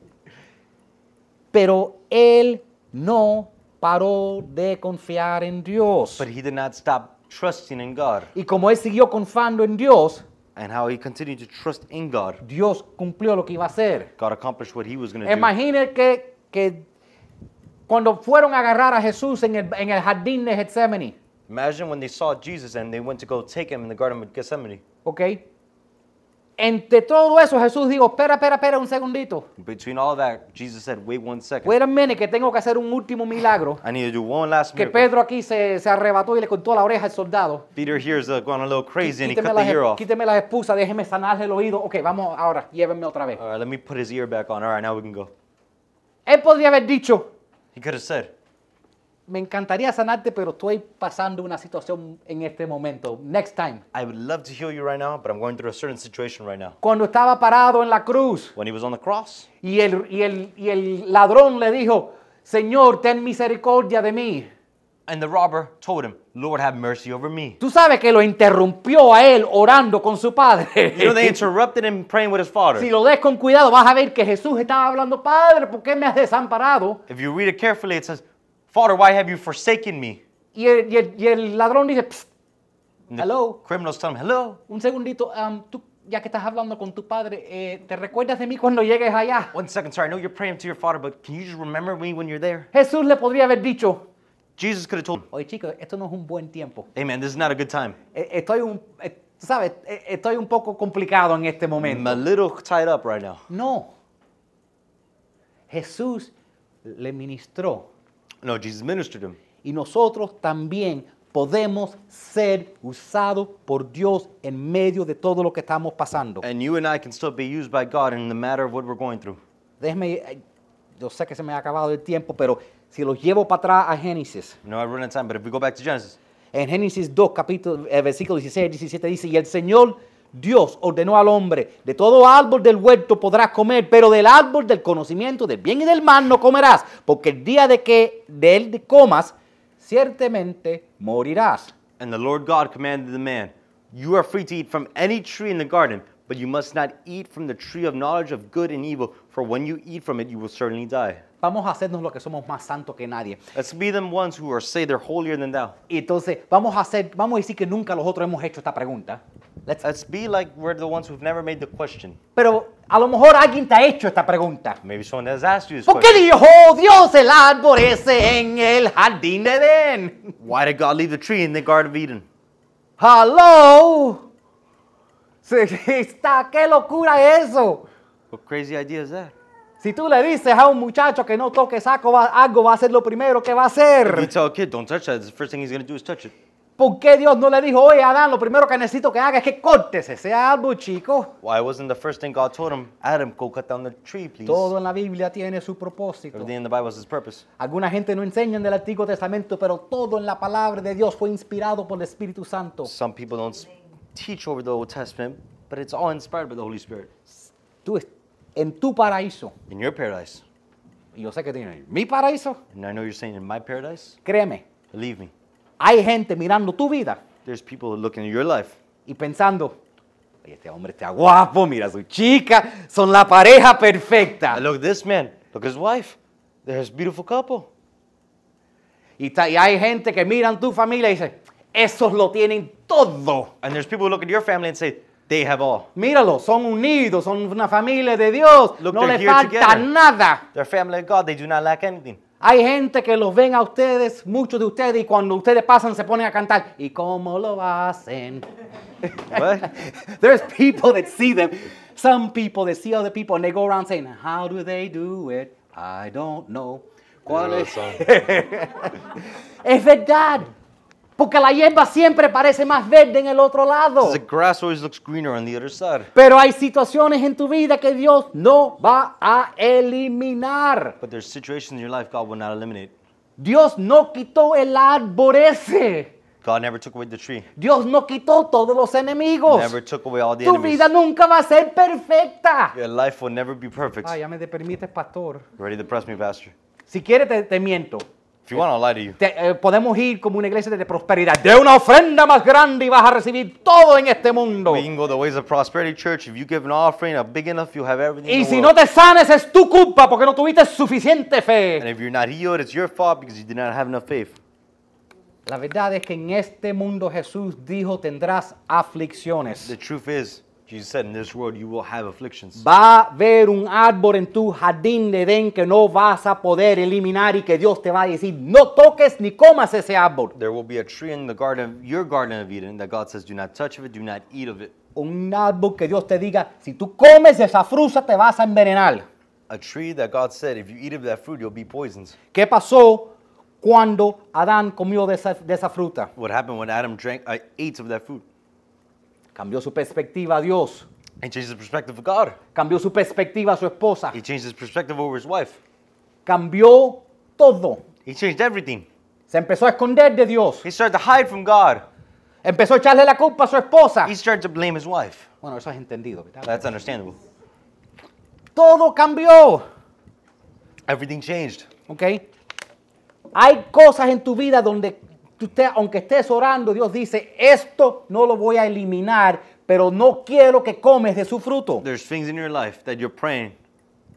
Pero él no paró de confiar en Dios. But he did not stop trusting in God. Y como él siguió confiando en Dios, And how he continued to trust in God, Dios cumplió lo que iba a hacer. God accomplished what he was going to do. Imagine que, que cuando fueron a agarrar a Jesús en el, en el jardín de Getsemaní, Imagine when they saw Jesus and they went to go take him in the Garden of Gethsemane. ¿ok? Entre todo eso, Jesús dijo, espera, espera, espera un segundito. Between all that, Jesus said, wait one second. Wait a minute, que tengo que hacer un último milagro. I need to do one last Que miracle. Pedro aquí se, se arrebató y le cortó la oreja al soldado. Peter here is uh, going a little crazy and he Quíteme cut the las, ear off. quíteme las expulsas, déjeme sanarle el oído. Ok, vamos ahora, llévenme otra vez. All right, let me put his ear back on. All right, now we can go. Él podría haber dicho, He could have said, me encantaría sanarte, pero estoy pasando una situación en este momento. Next time. I would love to heal you right now, but I'm going through a certain situation right now. Cuando estaba parado en la cruz When he was on the cross, y el, y el, y el ladrón le dijo, Señor, ten misericordia de mí. and the robber told him, Lord, have mercy over me. Tú sabes que lo interrumpió a él orando con su padre. You know, they interrupted him praying with his father. Si lo des con cuidado, vas a ver que Jesús estaba hablando, Padre, ¿por qué me has desamparado? If you read it carefully, it says, Father, why have you forsaken me? Y el, y el- y el ladrón dice, "Psst, And the hello, criminals tell him, hello, un segundito, um, ¿tú ya que estás hablando con tu padre, eh, ¿te recuerdas de mí cuando llegues allá? One second, sorry, I know you're praying to your father, but can you just remember me when you're there? Jesús le podría haber dicho, Jesus could have told him, oye chicos, esto no es un buen tiempo. hey man, this is not a good time. Eh, Estoy un, eh, tú sabes, eh, estoy un poco complicado en este I'm momento. a little tied up right now. No. Jesús le ministró No, Jesus ministered him. y nosotros también podemos ser usados por Dios en medio de todo lo que estamos pasando. And you and I can still be used by God in the matter of what we're going through. Déjeme, eh, yo sé que se me ha acabado el tiempo, pero si los llevo para atrás a Génesis, I know I run out of time, but if we go back to Genesis, en Génesis dos, capítulo, eh, versículo dieciséis, diecisiete dice, y el Señor Dios ordenó al hombre, de todo árbol del huerto podrás comer, pero del árbol del conocimiento del bien y del mal no comerás, porque el día de que de él comas, ciertamente morirás. and the Lord God commanded the man, you are free to eat from any tree in the garden, but you must not eat from the tree of knowledge of good and evil, for when you eat from it, you will certainly die. Vamos a hacernos lo que somos más santos que nadie. Let's be them ones who are say they're holier than thou. Y entonces vamos a hacer, vamos a decir que nunca nosotros hemos hecho esta pregunta. Let's- Let's be like we're the ones who've never made the question. pero a lo mejor alguien te ha hecho esta pregunta. Maybe someone has asked you this ¿Por qué question. dijo Dios el árbol ese en el jardín de Edén? Why did God leave the tree in the Garden of Eden? ¡Hello! Sí, está, ¿qué locura es eso? What crazy idea is that? Si tú le dices a un muchacho que no toque saco va- algo, va a ser lo primero que va a If you hacer. tell a kid, don't touch that, the first thing he's going to do is touch it. ¿Por qué Dios no le dijo, oye, Adán, lo primero que necesito que haga es que cortes ese árbol, chico? Why wasn't the first thing God told him, Adam, go cut down the tree, please? Todo en la Biblia tiene su propósito. Everything in the Bible has its purpose. Alguna gente no enseña del Antiguo Testamento, pero todo en la palabra de Dios fue inspirado por el Espíritu Santo. Some people don't s- teach over the Old Testament, but it's all inspired by the Holy Spirit. Tú, es- en tu paraíso, In your paradise, y yo sé que tienes mi paraíso, and I know you're saying in my paradise, créeme, believe me, hay gente mirando tu vida there's people looking at your life y pensando, oye, este hombre está guapo, mira a su chica, son la pareja perfecta. and look at this man, look at his wife, there's a beautiful couple. Y, ta- y hay gente que miran tu familia y dice, esos lo tienen todo. And there's people who look at your family and say, they have all. Míralo, son unidos, son una familia de Dios, Look, no they're le here falta together. nada. They're family of God, they do not lack anything. Hay gente que los ven a ustedes, muchos de ustedes, y cuando ustedes pasan se ponen a cantar. ¿Y cómo lo hacen? What? There's people that see them. Some people that see other people and they go around saying, how do they do it? I don't know. ¿Cuál es? Es verdad. Porque la hierba siempre parece más verde en el otro lado. The grass always looks greener on the other side. Pero hay situaciones en tu vida que Dios no va a eliminar. But there's situations in your life God will not eliminate. Dios no quitó el árbol ese. God never took away the tree. Dios no quitó todos los enemigos. Never took away all the Tu enemies. vida nunca va a ser perfecta. Your life will never be perfect. Ah, ya me te permites, pastor. Ready to press me, Pastor? Si quieres, te, te miento. If you want, I'll lie to you. Te- eh, podemos ir como una iglesia de prosperidad. De una ofrenda más grande y vas a recibir todo en este mundo. We can go the ways of prosperity church. If you give an offering a big enough, you'll have everything in Y the si world. no te sanes, es tu culpa porque no tuviste suficiente fe. And if you're not healed, it's your fault because you did not have enough faith. La verdad es que en este mundo Jesús dijo tendrás aflicciones. The truth is, Jesus said, in this world you will have afflictions. Va a haber un árbol en tu jardín de Edén que no vas a poder eliminar y que Dios te va a decir, no toques ni comas ese árbol. There will be a tree in the garden, your garden of Eden, that God says, do not touch of it, do not eat of it. Un árbol que Dios te diga, si tú comes esa fruta te vas a envenenar. A tree that God said, if you eat of that fruit, you'll be poisoned. ¿Qué pasó cuando Adán comió de esa, de esa fruta? What happened when Adam drank, uh, ate of that fruit? Cambió su perspectiva a Dios. He changed his perspective of God. Cambió su perspectiva a su esposa. He changed his perspective over his wife. Cambió todo. He changed everything. Se empezó a esconder de Dios. He started to hide from God. Empezó a echarle la culpa a su esposa. He started to blame his wife. Bueno, eso es entendido, ¿verdad? That's understandable. Todo cambió. Everything changed. ¿Ok? Hay cosas en tu vida donde usted, aunque estés orando, Dios dice, esto no lo voy a eliminar, pero no quiero que comes de su fruto. There's things in your life that you're praying,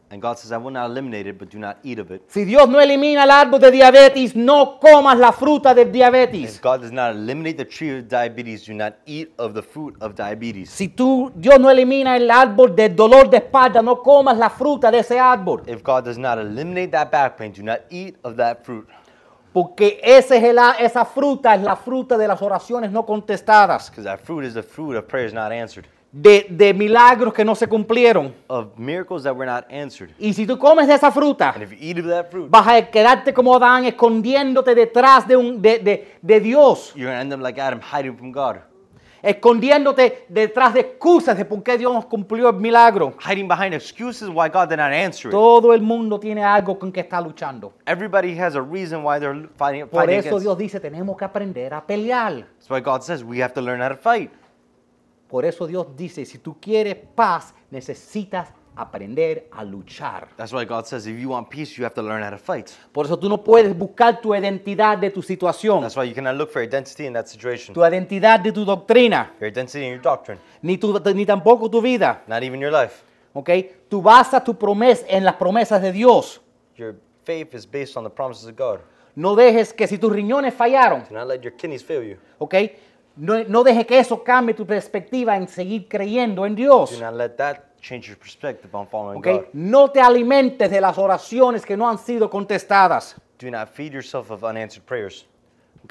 And God says, I will not eliminate it, but do not eat of it. Si Dios no elimina el árbol de diabetes, no comas la fruta del diabetes. If God does not eliminate the tree of diabetes, do not eat of the fruit of diabetes. Si tú, Dios no elimina el árbol del dolor de espalda, no comas la fruta de ese árbol. If God does not eliminate that back pain, do not eat of that fruit. Porque ese es el, esa fruta es la fruta de las oraciones no contestadas, Because that fruit is the fruit of prayers not answered, de, de milagros que no se cumplieron. of miracles that were not answered. Y si tú comes de esa fruta, And if you eat of that fruit, vas a quedarte como Adán, escondiéndote detrás de, un, de, de, de Dios, you're going to end up like Adam, hiding from God, escondiéndote detrás de excusas de por qué Dios nos cumplió el milagro. hiding behind excuses why God did not answer it. Todo el mundo tiene algo con que está luchando. Everybody has a reason why they're fighting, Por fighting eso against. Dios dice, tenemos que aprender a pelear. That's why God says we have to learn how to fight. Por eso Dios dice, si tú quieres paz, necesitas aprender a luchar. That's why God says if you want peace, you have to learn how to fight. Por eso tú no puedes buscar tu identidad de tu situación, That's why you cannot look for identity in that situation. tu identidad de tu doctrina, Your identity in your doctrine, ni, tu, ni tampoco tu vida. not even your life. ¿Ok? Tú basas tu promesa en las promesas de Dios. Your faith is based on the promises of God. No dejes que si tus riñones fallaron, Do not let your kidneys fail you. ¿ok? No, no dejes que eso cambie tu perspectiva en seguir creyendo en Do Dios. not let that change your perspective on following ¿Ok? God. No te alimentes de las oraciones que no han sido contestadas. Do not feed yourself of unanswered prayers. ¿Ok?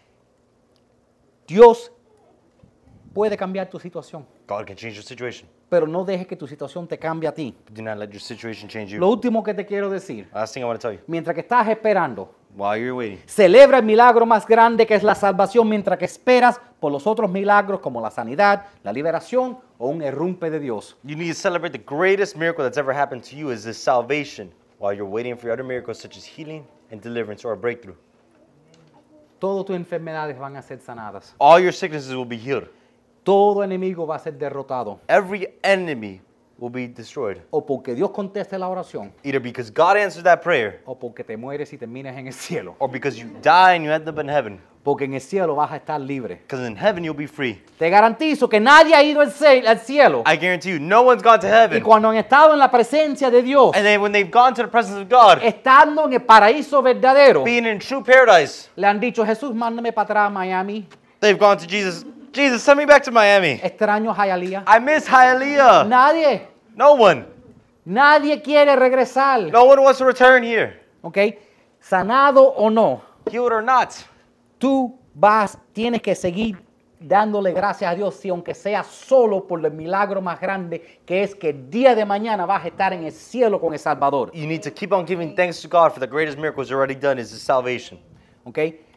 Dios puede cambiar tu situación, God can change your situation. pero no dejes que tu situación te cambie a ti. But do not let your situation change you. Lo último que te quiero decir, Last thing I want to tell you, mientras que estás esperando, while you're waiting, celebra el milagro más grande que es la salvación mientras que esperas por los otros milagros como la sanidad, la liberación o un errumpe de Dios. you need to celebrate the greatest miracle that's ever happened to you is this salvation while you're waiting for your other miracles such as healing and deliverance or a breakthrough. Todas tus enfermedades van a ser sanadas. All your sicknesses will be healed. Todo enemigo va a ser derrotado. Every enemy will be destroyed. O porque Dios conteste la oración, Either because God answered that prayer o porque te mueres y terminas en el cielo. or because you die and you end up in heaven. Porque en el cielo vas a estar libre. Because in heaven you'll be free. Te garantizo que nadie ha ido al ce- al cielo. I guarantee you, no one's gone to Y heaven. cuando han estado en la presencia de Dios, And then when they've gone to the presence of God, estando en el paraíso verdadero, being in true paradise, le han dicho, Jesús, mándame para atrás a Miami. they've gone to Jesus. Jesus, send me back to Miami. Extraño Hialeah. I miss Hialeah. Nadie, No one. nadie quiere regresar. No one wants to return here. ¿Ok? Sanado o no, Healed or not. tú vas, tienes que seguir dándole gracias a Dios, si aunque sea solo por el milagro más grande, que es que el día de mañana vas a estar en el cielo con el Salvador. You need to keep on giving thanks to God for the greatest miracles already done is His salvation. ¿Ok?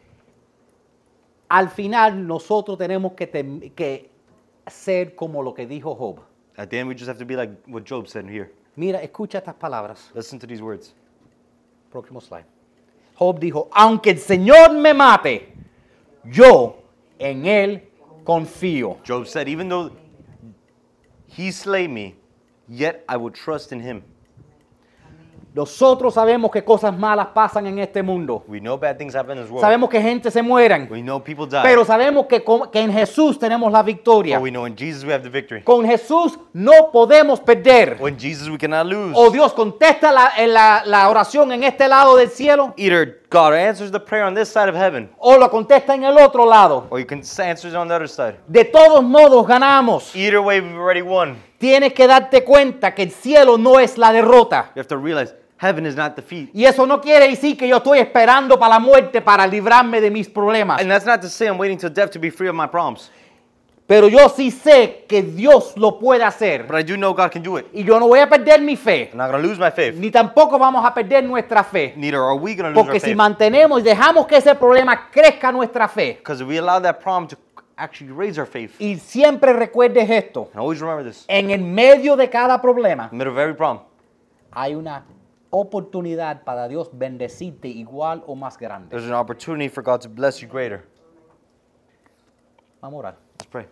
Al final nosotros tenemos que, tem- que ser como lo que dijo Job. At the end, we just have to be like what Job said here. Mira, escucha estas palabras. Listen to these words. Próximo slide. Job dijo, aunque el Señor me mate, yo en Él confío. Job said, even though He slay me, yet I will trust in Him. Nosotros sabemos que cosas malas pasan en este mundo. We know bad things happen in this world. Sabemos que gente se mueren. We know people die. Pero sabemos que, con- que en Jesús tenemos la victoria. But we know in Jesus we have the victory. Con Jesús no podemos perder. When Jesus we cannot lose. O Dios contesta la, en la, la oración en este lado del cielo, Either God answers the prayer on this side of heaven, o lo contesta en el otro lado. or you can answer it on the other side. De todos modos ganamos. Either way, we've already won. Tienes que darte cuenta que el cielo no es la derrota. You have to realize heaven is not defeat. Y eso no quiere decir que yo estoy esperando para la muerte para librarme de mis problemas. And that's not to say I'm waiting till death to be free of my problems. Pero yo sí sé que Dios lo puede hacer. But I do know God can do it. Y yo no voy a perder mi fe. I'm not going to lose my faith. Ni tampoco vamos a perder nuestra fe. Neither are we going to lose our Porque si faith. mantenemos y dejamos que ese problema crezca nuestra fe. Because if we allow that problem to actually raise our faith. Y siempre recuerdes esto. And always remember this. En el medio de cada problema In the middle of every problem, hay una oportunidad para Dios bendecirte igual o más grande. there's an opportunity for God to bless you greater. Vamos a orar. Let's pray.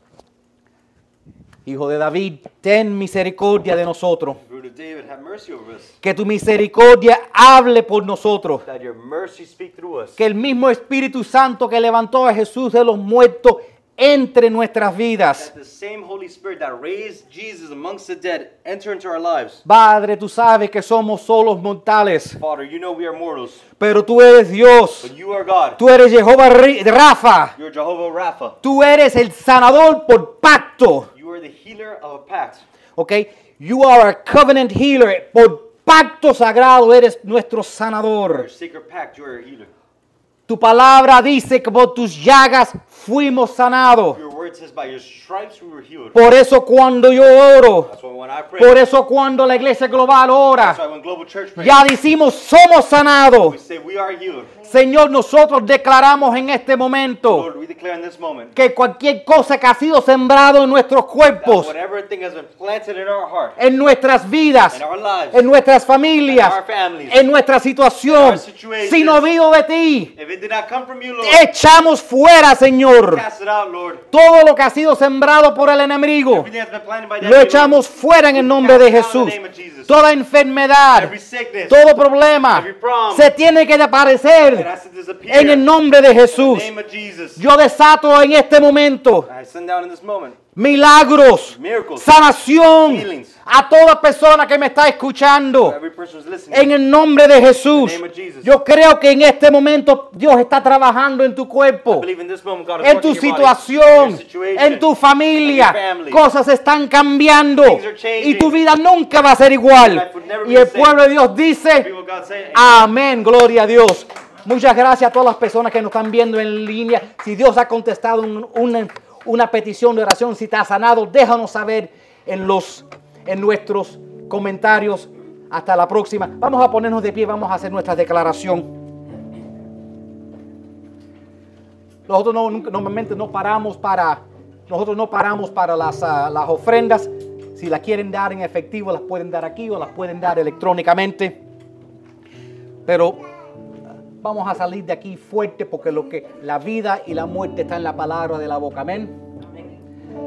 Hijo de David, ten misericordia de nosotros. Root of David, have mercy over us. Que tu misericordia hable por nosotros. That your mercy speak through us. Que el mismo Espíritu Santo que levantó a Jesús de los muertos entre nuestras vidas. That the same Holy Spirit that raised Jesus amongst the dead enter into our lives. Padre, tú sabes que somos solos mortales, Father, you know we are mortals, pero tú eres Dios. but you are God. Tú eres Jehová Ri- Rafa. You're Jehovah Rapha. Tú eres el sanador por pacto. You are the healer of a pact. ¿Ok? You are a covenant healer. Por pacto sagrado eres nuestro Your sanador. sacred pact, you are a healer. Tu palabra dice que por tus llagas fuimos sanados. Your word says by your stripes we were healed. Por eso cuando yo oro, That's why when I pray, por eso cuando la iglesia global ora, that's why when Global Church prays, ya decimos somos sanados. we say we are healed. Señor, nosotros declaramos en este momento Lord, we declare in this moment que cualquier cosa que ha sido sembrado en nuestros that cuerpos, whatever thing has been planted in our heart, en nuestras vidas, in our lives, en nuestras familias, in our families, en nuestra situación, in our situations, si no vino de ti, if it did not come from you, Lord, echamos fuera, Señor, cast it out, Lord. todo lo que ha sido sembrado por el enemigo. Everything that's been planted by the Lo enemy, echamos Lord, fuera en el nombre de cast it out in Jesús. the name of Jesus. Toda enfermedad, Every sickness, todo problema every problem, se tiene que it desaparecer has to disappear en el nombre de in Jesús. the name of Jesus. Yo desato en este momento I send down in this moment milagros, miracles, sanación healings. a toda persona que me está escuchando. Every person who's listening. En el nombre de Jesús. In the name of Jesus. Yo creo que en este momento Dios está trabajando en tu I cuerpo, believe in this moment God is en working tu in your body, situación, in your situation, en tu familia. in your family. Cosas están cambiando Things are changing. y tu vida nunca va a ser igual. Your life would never Y be el the same. pueblo de Dios dice, People, God say, amén, gloria a Dios. Muchas gracias a todas las personas que nos están viendo en línea. Si Dios ha contestado un- una, una petición de oración, si te ha sanado, déjanos saber en, los, en nuestros comentarios. Hasta la próxima. Vamos a ponernos de pie, vamos a hacer nuestra declaración. Nosotros no, nunca- normalmente no paramos para, nosotros no paramos para las, ah, las ofrendas. Si las quieren dar en efectivo, las pueden dar aquí o las pueden dar electrónicamente. Pero vamos a salir de aquí fuerte porque lo que la vida y la muerte está en la palabra de la boca. Amén.